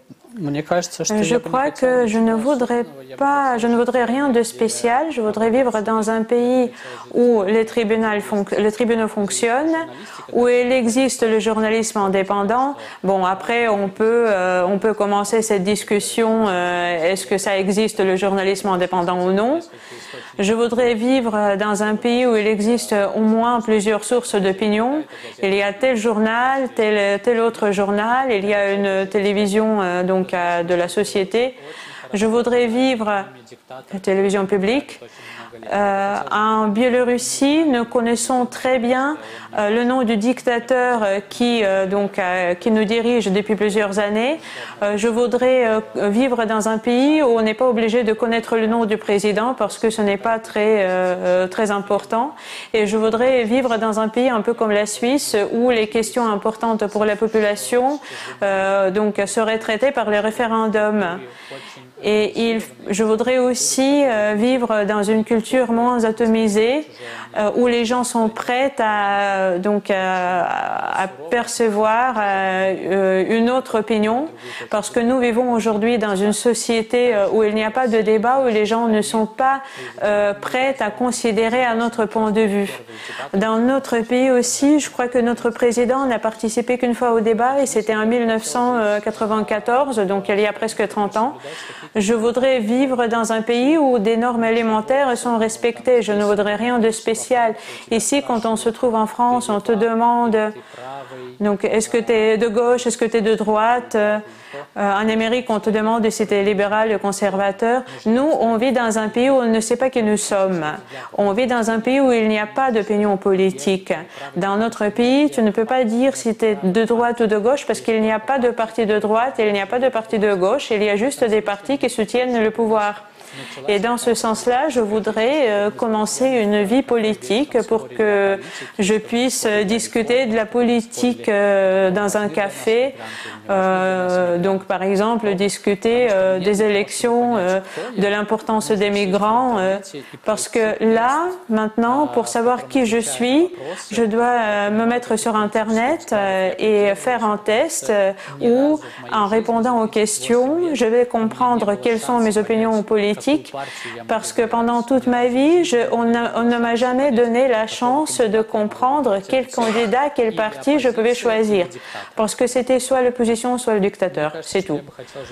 Speaker 3: Je crois que je ne voudrais pas, je ne voudrais rien de spécial. Je voudrais vivre dans un pays où les tribunaux, les tribunaux fonctionnent, où il existe le journalisme indépendant. Bon, après, on peut, euh, on peut commencer cette discussion. Euh, est-ce que ça existe le journalisme indépendant ou non? Je voudrais vivre dans un pays où il existe au moins plusieurs sources d'opinion. Il y a tel journal, tel, tel autre journal, il y a une télévision euh, donc euh, de la société. Je voudrais vivre la télévision publique. Euh, en Biélorussie, nous connaissons très bien euh, le nom du dictateur euh, qui, euh, donc, euh, qui nous dirige depuis plusieurs années. Euh, je voudrais euh, vivre dans un pays où on n'est pas obligé de connaître le nom du président parce que ce n'est pas très, euh, très important. Et je voudrais vivre dans un pays un peu comme la Suisse où les questions importantes pour la population euh, donc, seraient traitées par les référendums. Et il, je voudrais aussi euh, vivre dans une culture moins atomisée, euh, où les gens sont prêts à, donc, à, à percevoir euh, une autre opinion, parce que nous vivons aujourd'hui dans une société où il n'y a pas de débat, où les gens ne sont pas euh, prêts à considérer un autre point de vue. Dans notre pays aussi, je crois que notre président n'a participé qu'une fois au débat, et c'était en mille neuf cent quatre-vingt-quatorze, donc il y a presque trente ans. Je voudrais vivre dans un pays où des normes élémentaires sont respectées. Je ne voudrais rien de spécial. Ici, quand on se trouve en France, on te demande donc est-ce que tu es de gauche, est-ce que tu es de droite? euh, En Amérique, on te demande si tu es libéral ou conservateur. Nous, on vit dans un pays où on ne sait pas qui nous sommes. On vit dans un pays où il n'y a pas d'opinion politique. Dans notre pays, tu ne peux pas dire si tu es de droite ou de gauche parce qu'il n'y a pas de parti de droite et il n'y a pas de parti de gauche. Il y a juste des partis qui soutiennent le pouvoir. Et dans ce sens-là, je voudrais euh, commencer une vie politique pour que je puisse discuter de la politique euh, dans un café. Euh, donc, par exemple, discuter euh, des élections, euh, de l'importance des migrants. Euh, parce que là, maintenant, pour savoir qui je suis, je dois euh, me mettre sur Internet euh, et faire un test euh, où, en répondant aux questions, je vais comprendre quelles sont mes opinions politiques. Parce que pendant toute ma vie, je, on, a, on ne m'a jamais donné la chance de comprendre quel candidat, quel parti je pouvais choisir. Parce que c'était soit l'opposition, soit le dictateur. C'est tout.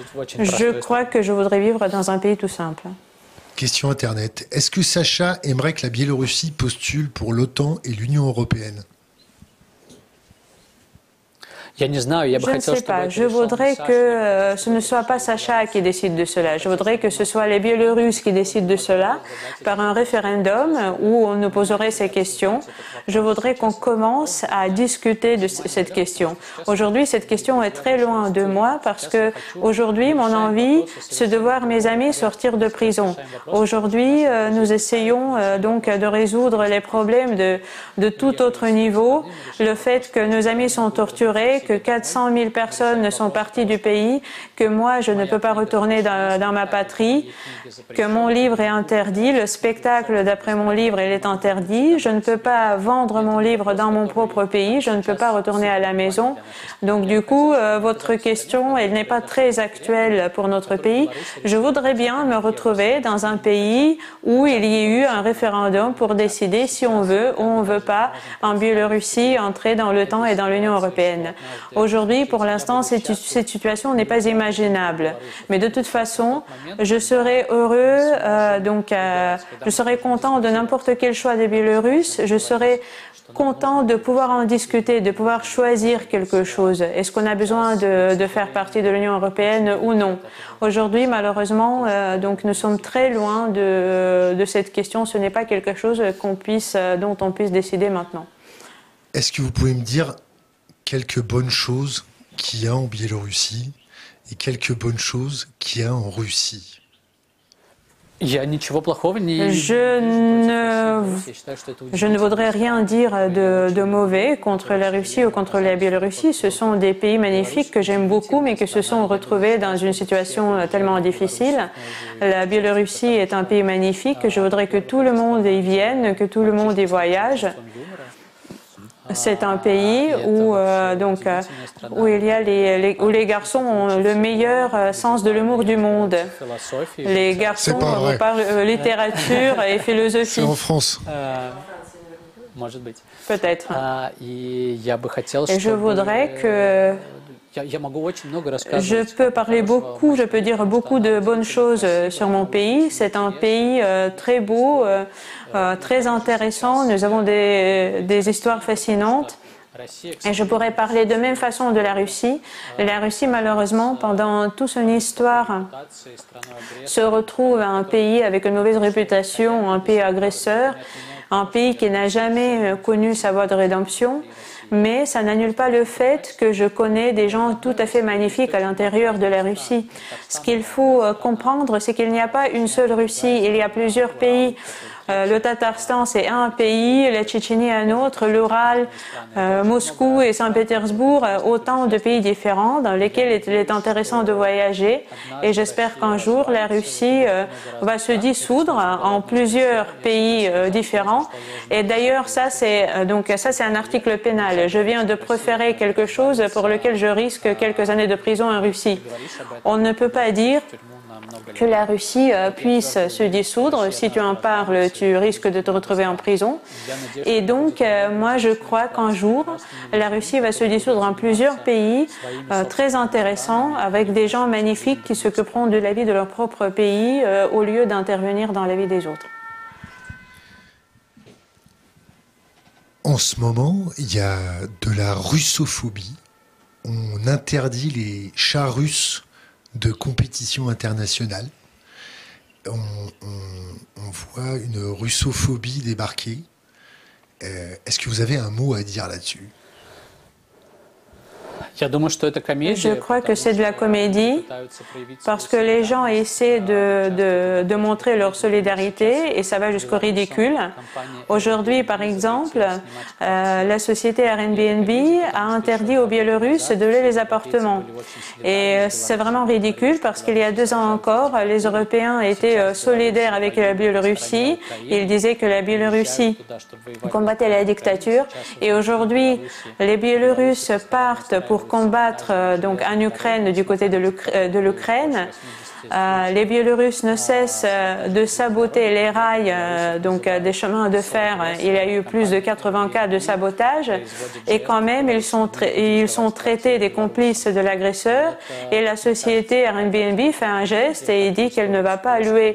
Speaker 3: Je crois que je voudrais vivre dans un pays tout simple.
Speaker 1: Question Internet. Est-ce que Sacha aimerait que la Biélorussie postule pour l'OTAN et l'Union européenne?
Speaker 3: Je ne sais pas. Je voudrais que euh, ce ne soit pas Sacha qui décide de cela. Je voudrais que ce soit les Biélorusses qui décident de cela par un référendum où on nous poserait ces questions. Je voudrais qu'on commence à discuter de cette question. Aujourd'hui, cette question est très loin de moi parce que aujourd'hui, mon envie, c'est de voir mes amis sortir de prison. Aujourd'hui, euh, nous essayons euh, donc de résoudre les problèmes de, de tout autre niveau. Le fait que nos amis sont torturés, que quatre cent mille personnes sont parties du pays, que moi, je ne peux pas retourner dans, dans ma patrie, que mon livre est interdit, le spectacle d'après mon livre, il est interdit, je ne peux pas vendre mon livre dans mon propre pays, je ne peux pas retourner à la maison. Donc, du coup, euh, votre question, elle n'est pas très actuelle pour notre pays. Je voudrais bien me retrouver dans un pays où il y ait eu un référendum pour décider si on veut ou on ne veut pas en Biélorussie entrer dans l'OTAN et dans l'Union européenne. Aujourd'hui, pour l'instant, cette, cette situation n'est pas imaginable. Mais de toute façon, je serais heureux, euh, donc euh, je serais content de n'importe quel choix des Biélorusses. Je serais content de pouvoir en discuter, de pouvoir choisir quelque chose. Est-ce qu'on a besoin de, de faire partie de l'Union européenne ou non? Aujourd'hui, malheureusement, euh, donc nous sommes très loin de, de cette question. Ce n'est pas quelque chose qu'on puisse, dont on puisse décider maintenant.
Speaker 1: Est-ce que vous pouvez me dire quelques bonnes choses qu'il y a en Biélorussie et quelques bonnes choses qu'il y a en Russie?
Speaker 3: Je ne, je ne voudrais rien dire de, de mauvais contre la Russie ou contre la Biélorussie. Ce sont des pays magnifiques que j'aime beaucoup, mais qui se sont retrouvés dans une situation tellement difficile. La Biélorussie est un pays magnifique. Je voudrais que tout le monde y vienne, que tout le monde y voyage. C'est un pays où, euh, donc, euh, où, il y a les, les, où les garçons ont le meilleur euh, sens de l'humour du monde. Les garçons parlent euh, littérature et philosophie.
Speaker 1: C'est en France.
Speaker 3: Peut-être. Et je voudrais que... Je peux parler beaucoup, je peux dire beaucoup de bonnes choses sur mon pays. C'est un pays euh, très beau, euh, euh, très intéressant. Nous avons des, des histoires fascinantes. Et je pourrais parler de même façon de la Russie. La Russie, malheureusement, pendant toute son histoire, se retrouve un pays avec une mauvaise réputation, un pays agresseur, un pays qui n'a jamais connu sa voie de rédemption. Mais ça n'annule pas le fait que je connais des gens tout à fait magnifiques à l'intérieur de la Russie. Ce qu'il faut comprendre, c'est qu'il n'y a pas une seule Russie, il y a plusieurs pays. Euh, le Tatarstan, c'est un pays, la Tchétchénie, un autre, l'Ural, euh, Moscou et Saint-Pétersbourg, euh, autant de pays différents dans lesquels il est intéressant de voyager. Et j'espère qu'un jour, la Russie euh, va se dissoudre en plusieurs pays euh, différents. Et d'ailleurs, ça, c'est euh, donc ça, c'est un article pénal. Je viens de proférer quelque chose pour lequel je risque quelques années de prison en Russie. On ne peut pas dire que la Russie euh, puisse se dissoudre. Si tu en parles, tu risques de te retrouver en prison. Et donc, euh, moi, je crois qu'un jour, la Russie va se dissoudre en plusieurs pays euh, très intéressants, avec des gens magnifiques qui s'occuperont de la vie de leur propre pays euh, au lieu d'intervenir dans la vie des autres.
Speaker 1: En ce moment, il y a de la russophobie. On interdit les chars russes de compétition internationale. On, on, on voit une russophobie débarquer. Euh, est-ce que vous avez un mot à dire là-dessus?
Speaker 3: Je crois que c'est de la comédie parce que les gens essaient de, de, de montrer leur solidarité et ça va jusqu'au ridicule. Aujourd'hui, par exemple, euh, la société Airbnb a interdit aux Biélorusses de louer les appartements. Et c'est vraiment ridicule parce qu'il y a deux ans encore, les Européens étaient solidaires avec la Biélorussie. Ils disaient que la Biélorussie combattait la dictature. Et aujourd'hui, les Biélorusses partent pour combattre euh, donc en Ukraine du côté de l'Ukraine. Euh, les Biélorusses ne cessent euh, de saboter les rails euh, donc euh, des chemins de fer. Il y a eu plus de quatre-vingts cas de sabotage et quand même ils sont, ils sont traités des complices de l'agresseur et la société Airbnb fait un geste et il dit qu'elle ne va pas louer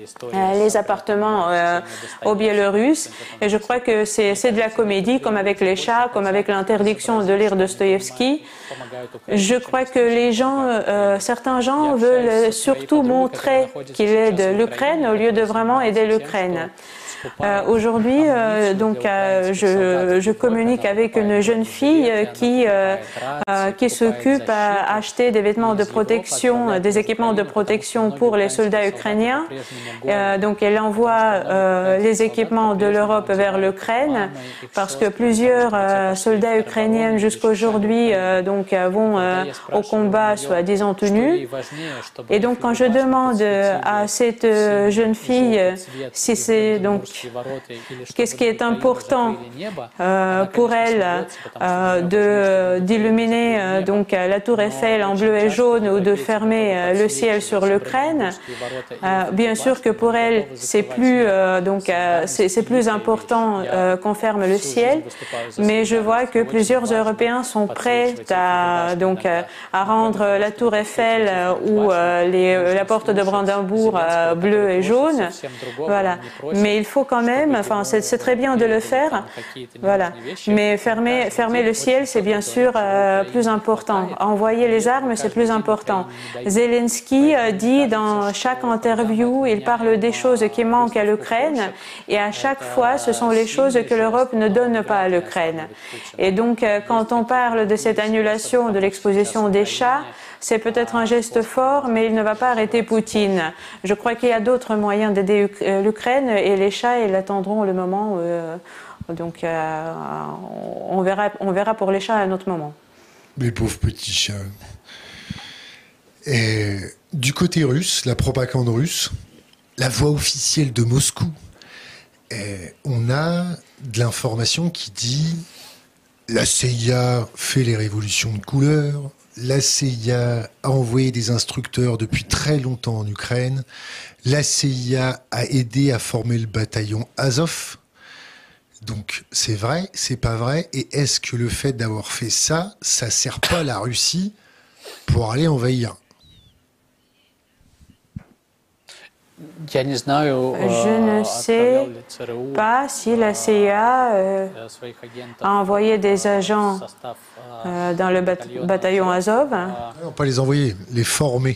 Speaker 3: les appartements euh, aux Biélorusses. Et je crois que c'est de la comédie, comme avec les chats, comme avec l'interdiction de lire Dostoïevski. Je crois que les gens, euh, certains gens veulent surtout montrer qu'ils aident l'Ukraine au lieu de vraiment aider l'Ukraine. Euh, Aujourd'hui, euh, donc, euh, je, je communique avec une jeune fille qui, euh, euh, qui s'occupe à acheter des vêtements de protection, des équipements de protection pour les soldats ukrainiens. Euh, donc, elle envoie euh, les équipements de l'Europe vers l'Ukraine parce que plusieurs euh, soldats ukrainiens jusqu'aujourd'hui euh, donc vont euh, au combat soi-disant tout nus. Et donc, quand je demande à cette jeune fille si c'est donc qu'est-ce qui est important euh, pour elle euh, de d'illuminer euh, donc la tour Eiffel en bleu et jaune ou de fermer euh, le ciel sur l'Ukraine. Euh, bien sûr que pour elle c'est plus euh, donc euh, c'est plus important euh, qu'on ferme le ciel, mais je vois que plusieurs Européens sont prêts à donc euh, à rendre la tour Eiffel euh, ou euh, les, la porte de Brandebourg euh, bleue et jaune. Voilà, mais il faut quand même, enfin c'est très bien de le faire, voilà. Mais fermer, fermer le ciel, c'est bien sûr euh, plus important. Envoyer les armes, c'est plus important. Zelensky euh, dit dans chaque interview, il parle des choses qui manquent à l'Ukraine, et à chaque fois, ce sont les choses que l'Europe ne donne pas à l'Ukraine. Et donc, euh, quand on parle de cette annulation de l'exposition des chats, c'est peut-être un geste fort, mais il ne va pas arrêter Poutine. Je crois qu'il y a d'autres moyens d'aider l'Ukraine, et les chats, ils attendront le moment. Euh, donc, euh, on verra, on verra pour les chats à un autre moment.
Speaker 1: Les pauvres petits chats. Et du côté russe, la propagande russe, la voix officielle de Moscou, et on a de l'information qui dit la C I A fait les révolutions de couleur. La C I A a envoyé des instructeurs depuis très longtemps en Ukraine. La C I A a aidé à former le bataillon Azov. Donc c'est vrai, c'est pas vrai. Et est-ce que le fait d'avoir fait ça, ça sert pas la Russie pour aller envahir ?
Speaker 3: Je ne sais pas si la C I A euh, a envoyé des agents euh, dans le bat bataillon Azov.
Speaker 1: Non, pas les envoyer, les former.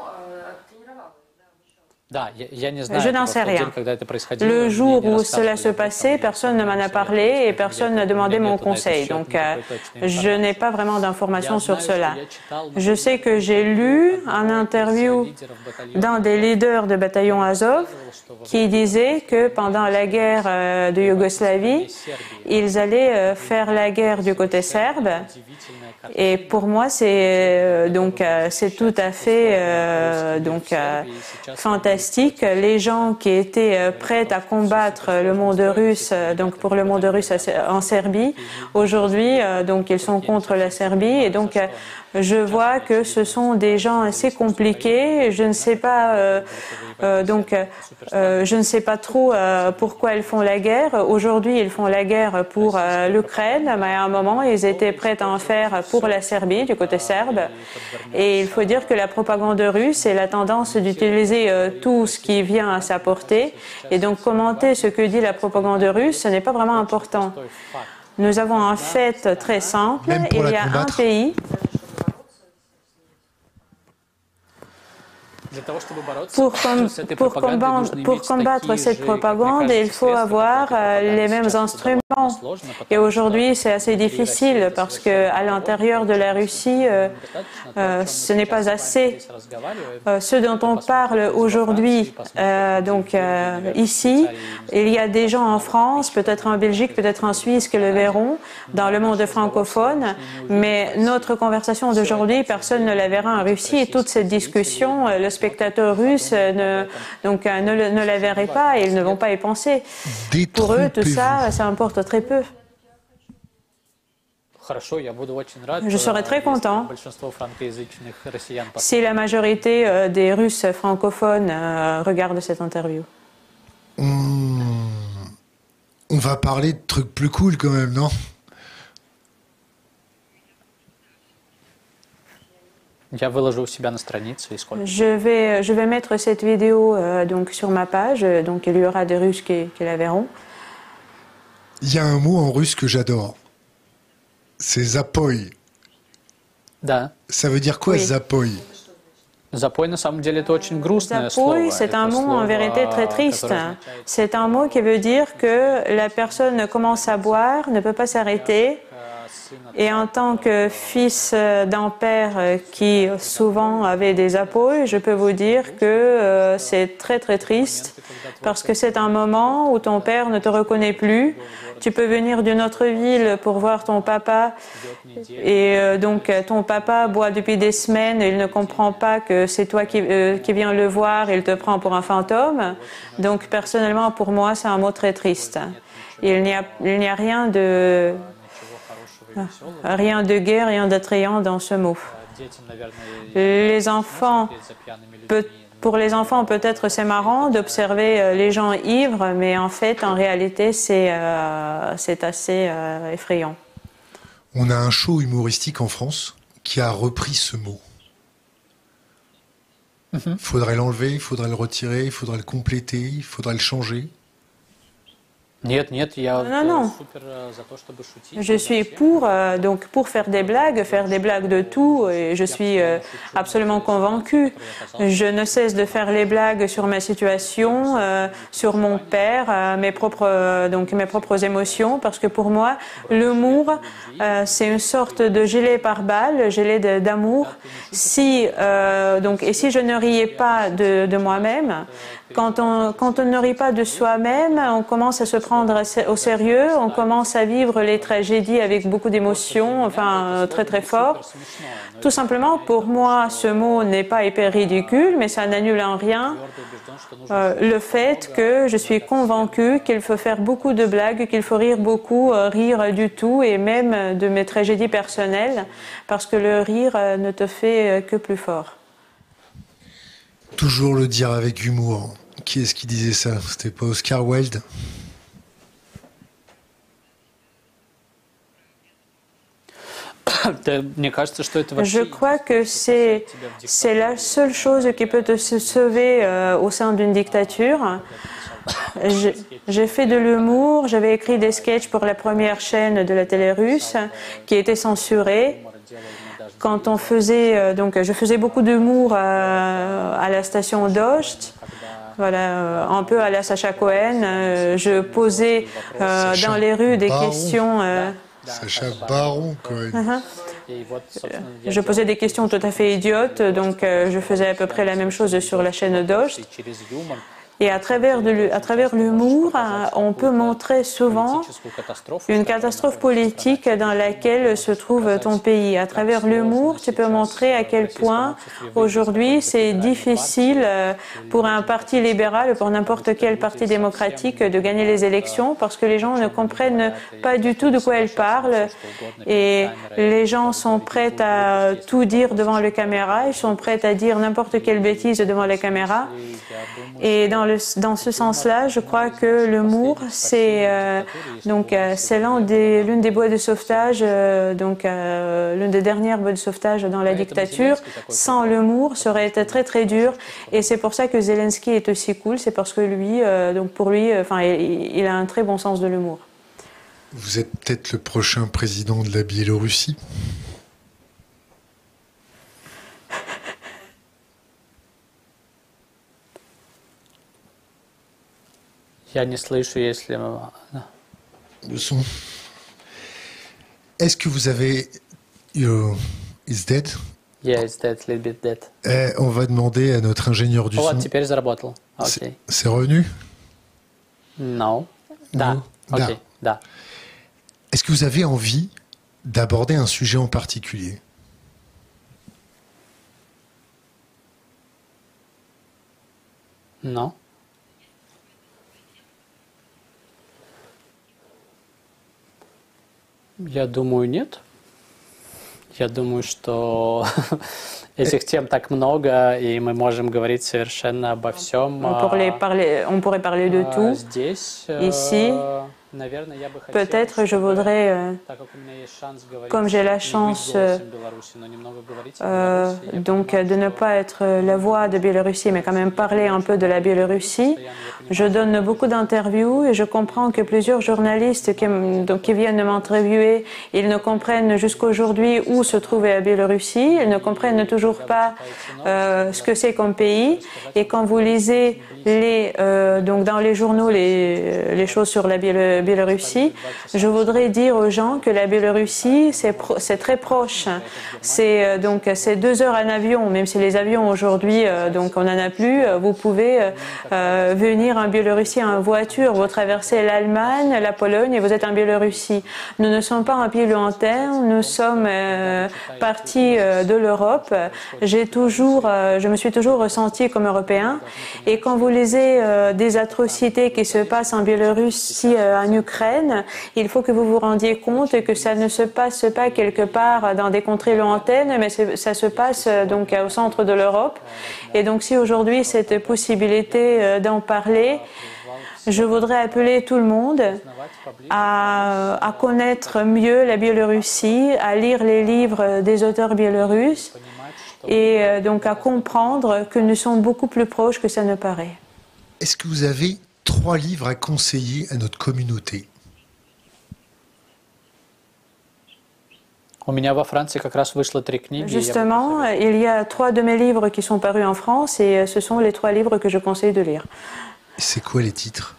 Speaker 3: Je n'en sais rien. Le jour où cela se passait, personne ne m'en a parlé et personne n'a demandé mon conseil. Donc, euh, je n'ai pas vraiment d'informations sur cela. Je sais que j'ai lu un interview d'un des leaders de bataillon Azov qui disait que pendant la guerre euh, de Yougoslavie, ils allaient euh, faire la guerre du côté serbe. Et pour moi, c'est euh, donc euh, c'est tout à fait euh, donc euh, fantastique. Les gens qui étaient euh, prêts à combattre le monde russe, euh, donc pour le monde russe en Serbie, aujourd'hui, euh, donc ils sont contre la Serbie. Et donc euh, je vois que ce sont des gens assez compliqués. Je ne sais pas, euh, euh, donc, euh, je ne sais pas trop euh, pourquoi ils font la guerre. Aujourd'hui, ils font la guerre pour euh, l'Ukraine, mais à un moment, ils étaient prêts à en faire pour la Serbie, du côté serbe. Et il faut dire que la propagande russe et la tendance d'utiliser euh, tout ce qui vient à sa portée. Et donc, commenter ce que dit la propagande russe, ce n'est pas vraiment important. Nous avons un fait très simple. Il y a un pays. Pour, com pour, combattre, pour combattre cette propagande, il faut avoir euh, les mêmes instruments. Et aujourd'hui, c'est assez difficile parce qu'à l'intérieur de la Russie, euh, euh, ce n'est pas assez. Euh, ce dont on parle aujourd'hui, euh, donc euh, ici, il y a des gens en France, peut-être en Belgique, peut-être en Suisse qui le verront, dans le monde francophone. Mais notre conversation d'aujourd'hui, personne ne la verra en Russie. Et toute cette discussion, le spectateurs russes ne, donc, ne, ne la verraient pas et ils ne vont pas y penser. Pour eux, tout ça, ça importe très peu. Je serais très content si la majorité euh, des Russes francophones euh, regardent cette interview.
Speaker 1: On... On va parler de trucs plus cool quand même, non ?
Speaker 3: Je vais, je vais mettre cette vidéo euh, donc, sur ma page, donc il y aura des Russes qui, qui la verront.
Speaker 1: Il y a un mot en russe que j'adore, c'est zapoy.
Speaker 2: Да.
Speaker 1: Ça veut dire quoi,
Speaker 3: Oui.
Speaker 1: zapoy?
Speaker 2: Запой, на самом деле, это очень грустное
Speaker 3: Запой,
Speaker 2: слово.
Speaker 3: c'est
Speaker 2: Это
Speaker 3: un mot
Speaker 2: слово,
Speaker 3: en vérité très triste.
Speaker 2: которое означает,
Speaker 3: C'est un mot qui veut dire que la personne commence à boire, ne peut pas s'arrêter. Et en tant que fils d'un père qui souvent avait des apôles, je peux vous dire que euh, c'est très très triste parce que c'est un moment où ton père ne te reconnaît plus. Tu peux venir d'une autre ville pour voir ton papa et euh, donc ton papa boit depuis des semaines et il ne comprend pas que c'est toi qui, euh, qui viens le voir et il te prend pour un fantôme. Donc personnellement pour moi c'est un mot très triste. Il n'y a, il n'y a rien de... Rien de gai, rien d'attrayant dans ce mot. Les enfants, peut, pour les enfants, peut-être c'est marrant d'observer les gens ivres, mais en fait, en réalité, c'est euh, c'est assez euh, effrayant.
Speaker 1: On a un show humoristique en France qui a repris ce mot. Il mm-hmm. faudrait l'enlever, il faudrait le retirer, il faudrait le compléter, il faudrait le changer.
Speaker 2: Нет, нет, я
Speaker 3: non, non.
Speaker 2: Super за то, чтобы шутить.
Speaker 3: Je suis pour, euh, donc pour faire des blagues, faire des blagues de tout, et je suis euh, absolument convaincue. Je ne cesse de faire les blagues sur ma situation, euh, sur mon père, euh, mes propres, euh, donc mes propres émotions, parce que pour moi, l'humour, euh, c'est une sorte de gilet pare-balles, gilet d'amour. Si, euh, donc, et si je ne riais pas de, de moi-même, quand on, quand on ne rit pas de soi-même, on commence à se prendre au sérieux, on commence à vivre les tragédies avec beaucoup d'émotions, enfin très très fort. Tout simplement, pour moi, ce mot n'est pas hyper ridicule, mais ça n'annule en rien euh, le fait que je suis convaincue qu'il faut faire beaucoup de blagues, qu'il faut rire beaucoup, euh, rire du tout, et même de mes tragédies personnelles, parce que le rire euh, ne te fait euh, que plus fort.
Speaker 1: Toujours le dire avec humour. Qui est-ce qui disait ça? C'était pas Oscar Wilde?
Speaker 3: Je crois que c'est c'est la seule chose qui peut te sauver euh, au sein d'une dictature. J'ai fait de l'humour, j'avais écrit des sketchs pour la première chaîne de la télé russe qui était censurée. Quand on faisait, donc je faisais beaucoup d'humour à, à la station Dost, voilà, un peu à la Sacha Cohen. Je posais euh, dans les rues des
Speaker 1: Baron.
Speaker 3: questions. Euh,
Speaker 1: Sacha Baron Cohen.
Speaker 3: Uh-huh. Je posais des questions tout à fait idiotes, donc euh, je faisais à peu près la même chose sur la chaîne Dost. Et à travers, de, à travers l'humour, on peut montrer souvent une catastrophe politique dans laquelle se trouve ton pays. À travers l'humour, tu peux montrer à quel point aujourd'hui c'est difficile pour un parti libéral, pour n'importe quel parti démocratique de gagner les élections parce que les gens ne comprennent pas du tout de quoi elles parlent et les gens sont prêts à tout dire devant les caméras, ils sont prêts à dire n'importe quelle bêtise devant les caméras. Et dans Le, dans ce sens-là, je crois que l'humour, c'est euh, donc euh, c'est l'un des l'une des boîtes de sauvetage, euh, donc euh, l'une des dernières boîtes de sauvetage dans la dictature. Sans l'humour, ça aurait été très très dur. Et c'est pour ça que Zelensky est aussi cool. C'est parce que lui, euh, donc pour lui, enfin, euh, il, il a un très bon sens de l'humour.
Speaker 1: Vous êtes peut-être le prochain président de la Biélorussie.
Speaker 2: Я не слышу, если...
Speaker 1: Le son. Est-ce que vous avez... Uh, is dead?
Speaker 2: Yeah, it's dead, a little bit dead.
Speaker 1: Eh, on va demander à notre ingénieur du
Speaker 2: oh,
Speaker 1: son...
Speaker 2: теперь заработал. Okay.
Speaker 1: C'est revenu?
Speaker 2: Non. Да. Ok, да.
Speaker 1: Est-ce que vous avez envie d'aborder un sujet en particulier?
Speaker 2: Non. Я думаю, нет. Я думаю, что этих тем так много, и мы можем говорить совершенно обо всем.
Speaker 3: On pourrait parler, on pourrait parler de tout.
Speaker 2: Здесь,
Speaker 3: ici, Peut-être je voudrais, euh, comme j'ai la chance euh, euh, donc de ne pas être la voix de Biélorussie, mais quand même parler un peu de la Biélorussie. Je donne beaucoup d'interviews et je comprends que plusieurs journalistes qui, donc, qui viennent de m'interviewer, ils ne comprennent jusqu'aujourd'hui où se trouve la Biélorussie, ils ne comprennent toujours pas euh, ce que c'est comme pays. Et quand vous lisez les, euh, donc dans les journaux les, les choses sur la Biélorussie, je voudrais dire aux gens que la Biélorussie, c'est très proche. C'est euh, donc c'est deux heures en avion, même si les avions aujourd'hui, euh, donc on n'en a plus, vous pouvez euh, venir en Biélorussie en voiture, vous traversez l'Allemagne, la Pologne et vous êtes en Biélorussie. Nous ne sommes pas un pays lointain, nous sommes euh, partis euh, de l'Europe. J'ai toujours, euh, je me suis toujours ressenti comme européen. Et quand vous lisez euh, des atrocités qui se passent en Biélorussie, euh, en Ukraine, il faut que vous vous rendiez compte que ça ne se passe pas quelque part dans des contrées lointaines, mais ça se passe euh, donc au centre de l'Europe. Et donc si aujourd'hui cette possibilité euh, d'en parler, je voudrais appeler tout le monde à, à connaître mieux la Biélorussie, à lire les livres des auteurs biélorusses et euh, donc à comprendre que nous sommes beaucoup plus proches que ça ne paraît.
Speaker 1: Est-ce que vous avez trois livres à conseiller à notre communauté?
Speaker 3: Justement, il y a trois de mes livres qui sont parus en France et ce sont les trois livres que je conseille de lire.
Speaker 1: C'est quoi les titres?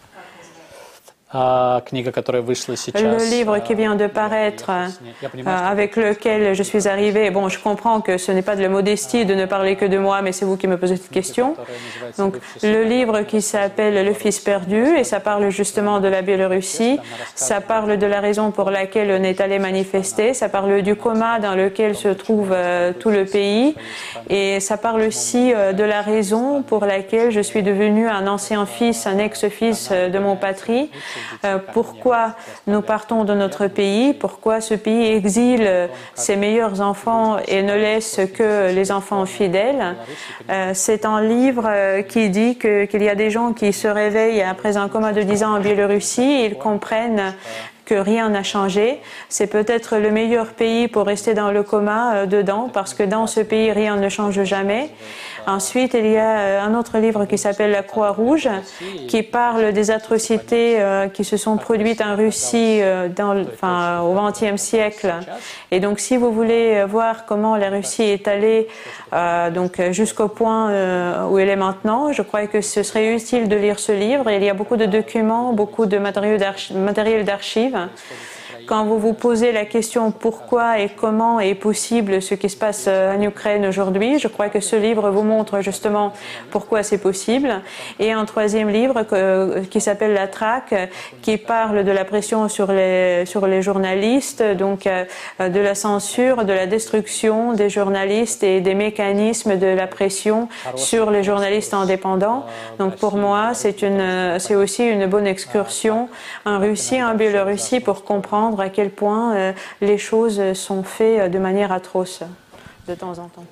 Speaker 3: Le livre qui vient de paraître, euh, avec lequel je suis arrivée, bon, je comprends que ce n'est pas de la modestie de ne parler que de moi, mais c'est vous qui me posez cette question. Donc, le livre qui s'appelle Le Fils perdu, et ça parle justement de la Biélorussie, ça parle de la raison pour laquelle on est allé manifester, ça parle du coma dans lequel se trouve euh, tout le pays, et ça parle aussi euh, de la raison pour laquelle je suis devenu un ancien fils, un ex-fils euh, de mon patrie. Euh, pourquoi nous partons de notre pays, pourquoi ce pays exile ses meilleurs enfants et ne laisse que les enfants fidèles. Euh, c'est un livre euh, qui dit que, qu'il y a des gens qui se réveillent après un coma de dix ans en Biélorussie, ils comprennent que rien n'a changé. C'est peut-être le meilleur pays pour rester dans le coma euh, dedans, parce que dans ce pays, rien ne change jamais. Ensuite, il y a un autre livre qui s'appelle La Croix-Rouge, qui parle des atrocités euh, qui se sont produites en Russie euh, dans, enfin, au vingtième siècle. Et donc, si vous voulez voir comment la Russie est allée euh, donc jusqu'au point euh, où elle est maintenant, je crois que ce serait utile de lire ce livre. Il y a beaucoup de documents, beaucoup de matériel d'archives. Quand vous vous posez la question pourquoi et comment est possible ce qui se passe en Ukraine aujourd'hui, je crois que ce livre vous montre justement pourquoi c'est possible. Et un troisième livre que, qui s'appelle La Traque, qui parle de la pression sur les, sur les journalistes, donc euh, de la censure, de la destruction des journalistes et des mécanismes de la pression sur les journalistes indépendants. Donc pour moi, c'est une, c'est aussi une bonne excursion en Russie, en Biélorussie pour comprendre à quel point euh, les choses sont faites de manière atroce de temps en temps.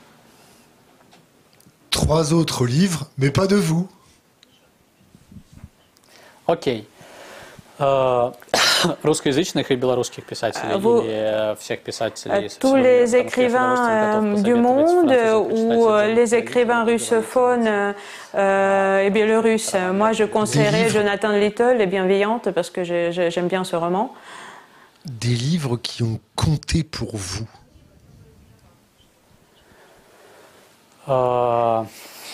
Speaker 1: Trois autres livres, mais pas de vous.
Speaker 2: Ok. Русскоязычных и белорусских писателей
Speaker 3: Vous,
Speaker 2: или всех писателей?
Speaker 3: Tous les écrivains euh, du monde ou les écrivains russophones euh, et biélorusses. Moi, je conseillerais Jonathan Little et Bienveillante parce que j'aime bien ce roman.
Speaker 1: Des livres qui ont compté pour vous?
Speaker 2: euh...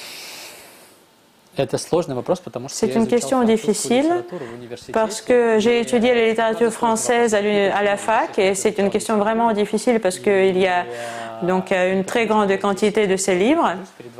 Speaker 2: C'est
Speaker 3: une question difficile parce que j'ai étudié la littérature française à la fac et c'est une question vraiment difficile parce qu'il y a donc une très grande quantité de ces livres.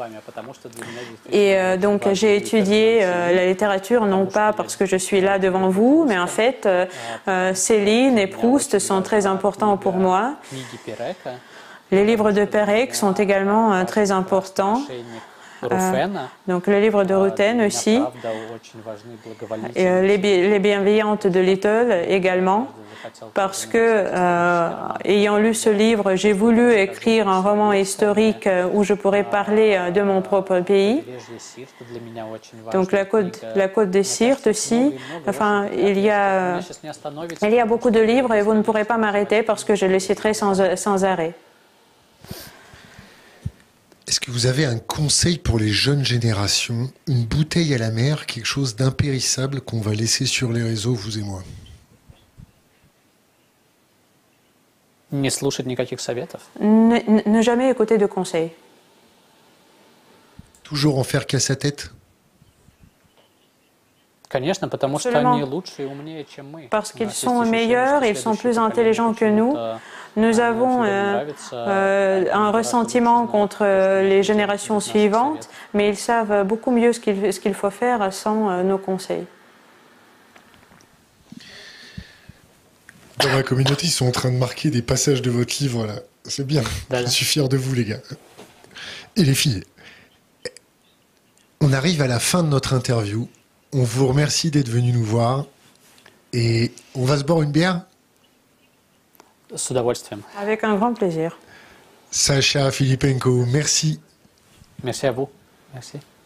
Speaker 3: Et euh, donc j'ai étudié euh, la littérature non pas parce que je suis là devant vous, mais en fait euh, Céline et Proust sont très importants pour moi. Les livres de Perec sont également euh, très importants.
Speaker 2: Руфен.
Speaker 3: Euh, donc le livre de Rutten aussi. Et, euh, les, les bienveillantes de Little également. Parce que, euh, ayant lu ce livre, j'ai voulu écrire un roman historique où je pourrais parler de mon propre pays. Donc la côte, la côte des Sirtes aussi. Enfin, il y a, il y a beaucoup de livres et vous ne pourrez pas m'arrêter parce que je les citerai sans, sans arrêt.
Speaker 1: Est-ce que vous avez un conseil pour les jeunes générations, une bouteille à la mer, quelque chose d'impérissable qu'on va laisser sur les réseaux, vous et moi?
Speaker 2: Не слушать никаких советов.
Speaker 3: Ne, ne jamais écouter de conseils.
Speaker 1: Toujours en faire qu'à sa tête?
Speaker 2: Конечно, потому что они лучше и умнее, чем мы.
Speaker 3: Parce qu'ils sont meilleurs, ils sont plus intelligents que nous. Nous avons euh, euh, un ressentiment contre les générations suivantes, mais ils savent beaucoup mieux ce qu'il ce qu'il faut faire sans euh, nos conseils.
Speaker 1: Dans ma communauté, ils sont en train de marquer des passages de votre livre, là. C'est bien. Je suis fier de vous, les gars. Et les filles. On arrive à la fin de notre interview. On vous remercie d'être venus nous voir. Et on va se boire une bière?
Speaker 2: С удовольствием.
Speaker 3: Avec un grand plaisir.
Speaker 1: Sacha Filipenko, merci.
Speaker 2: Merci à vous. Merci.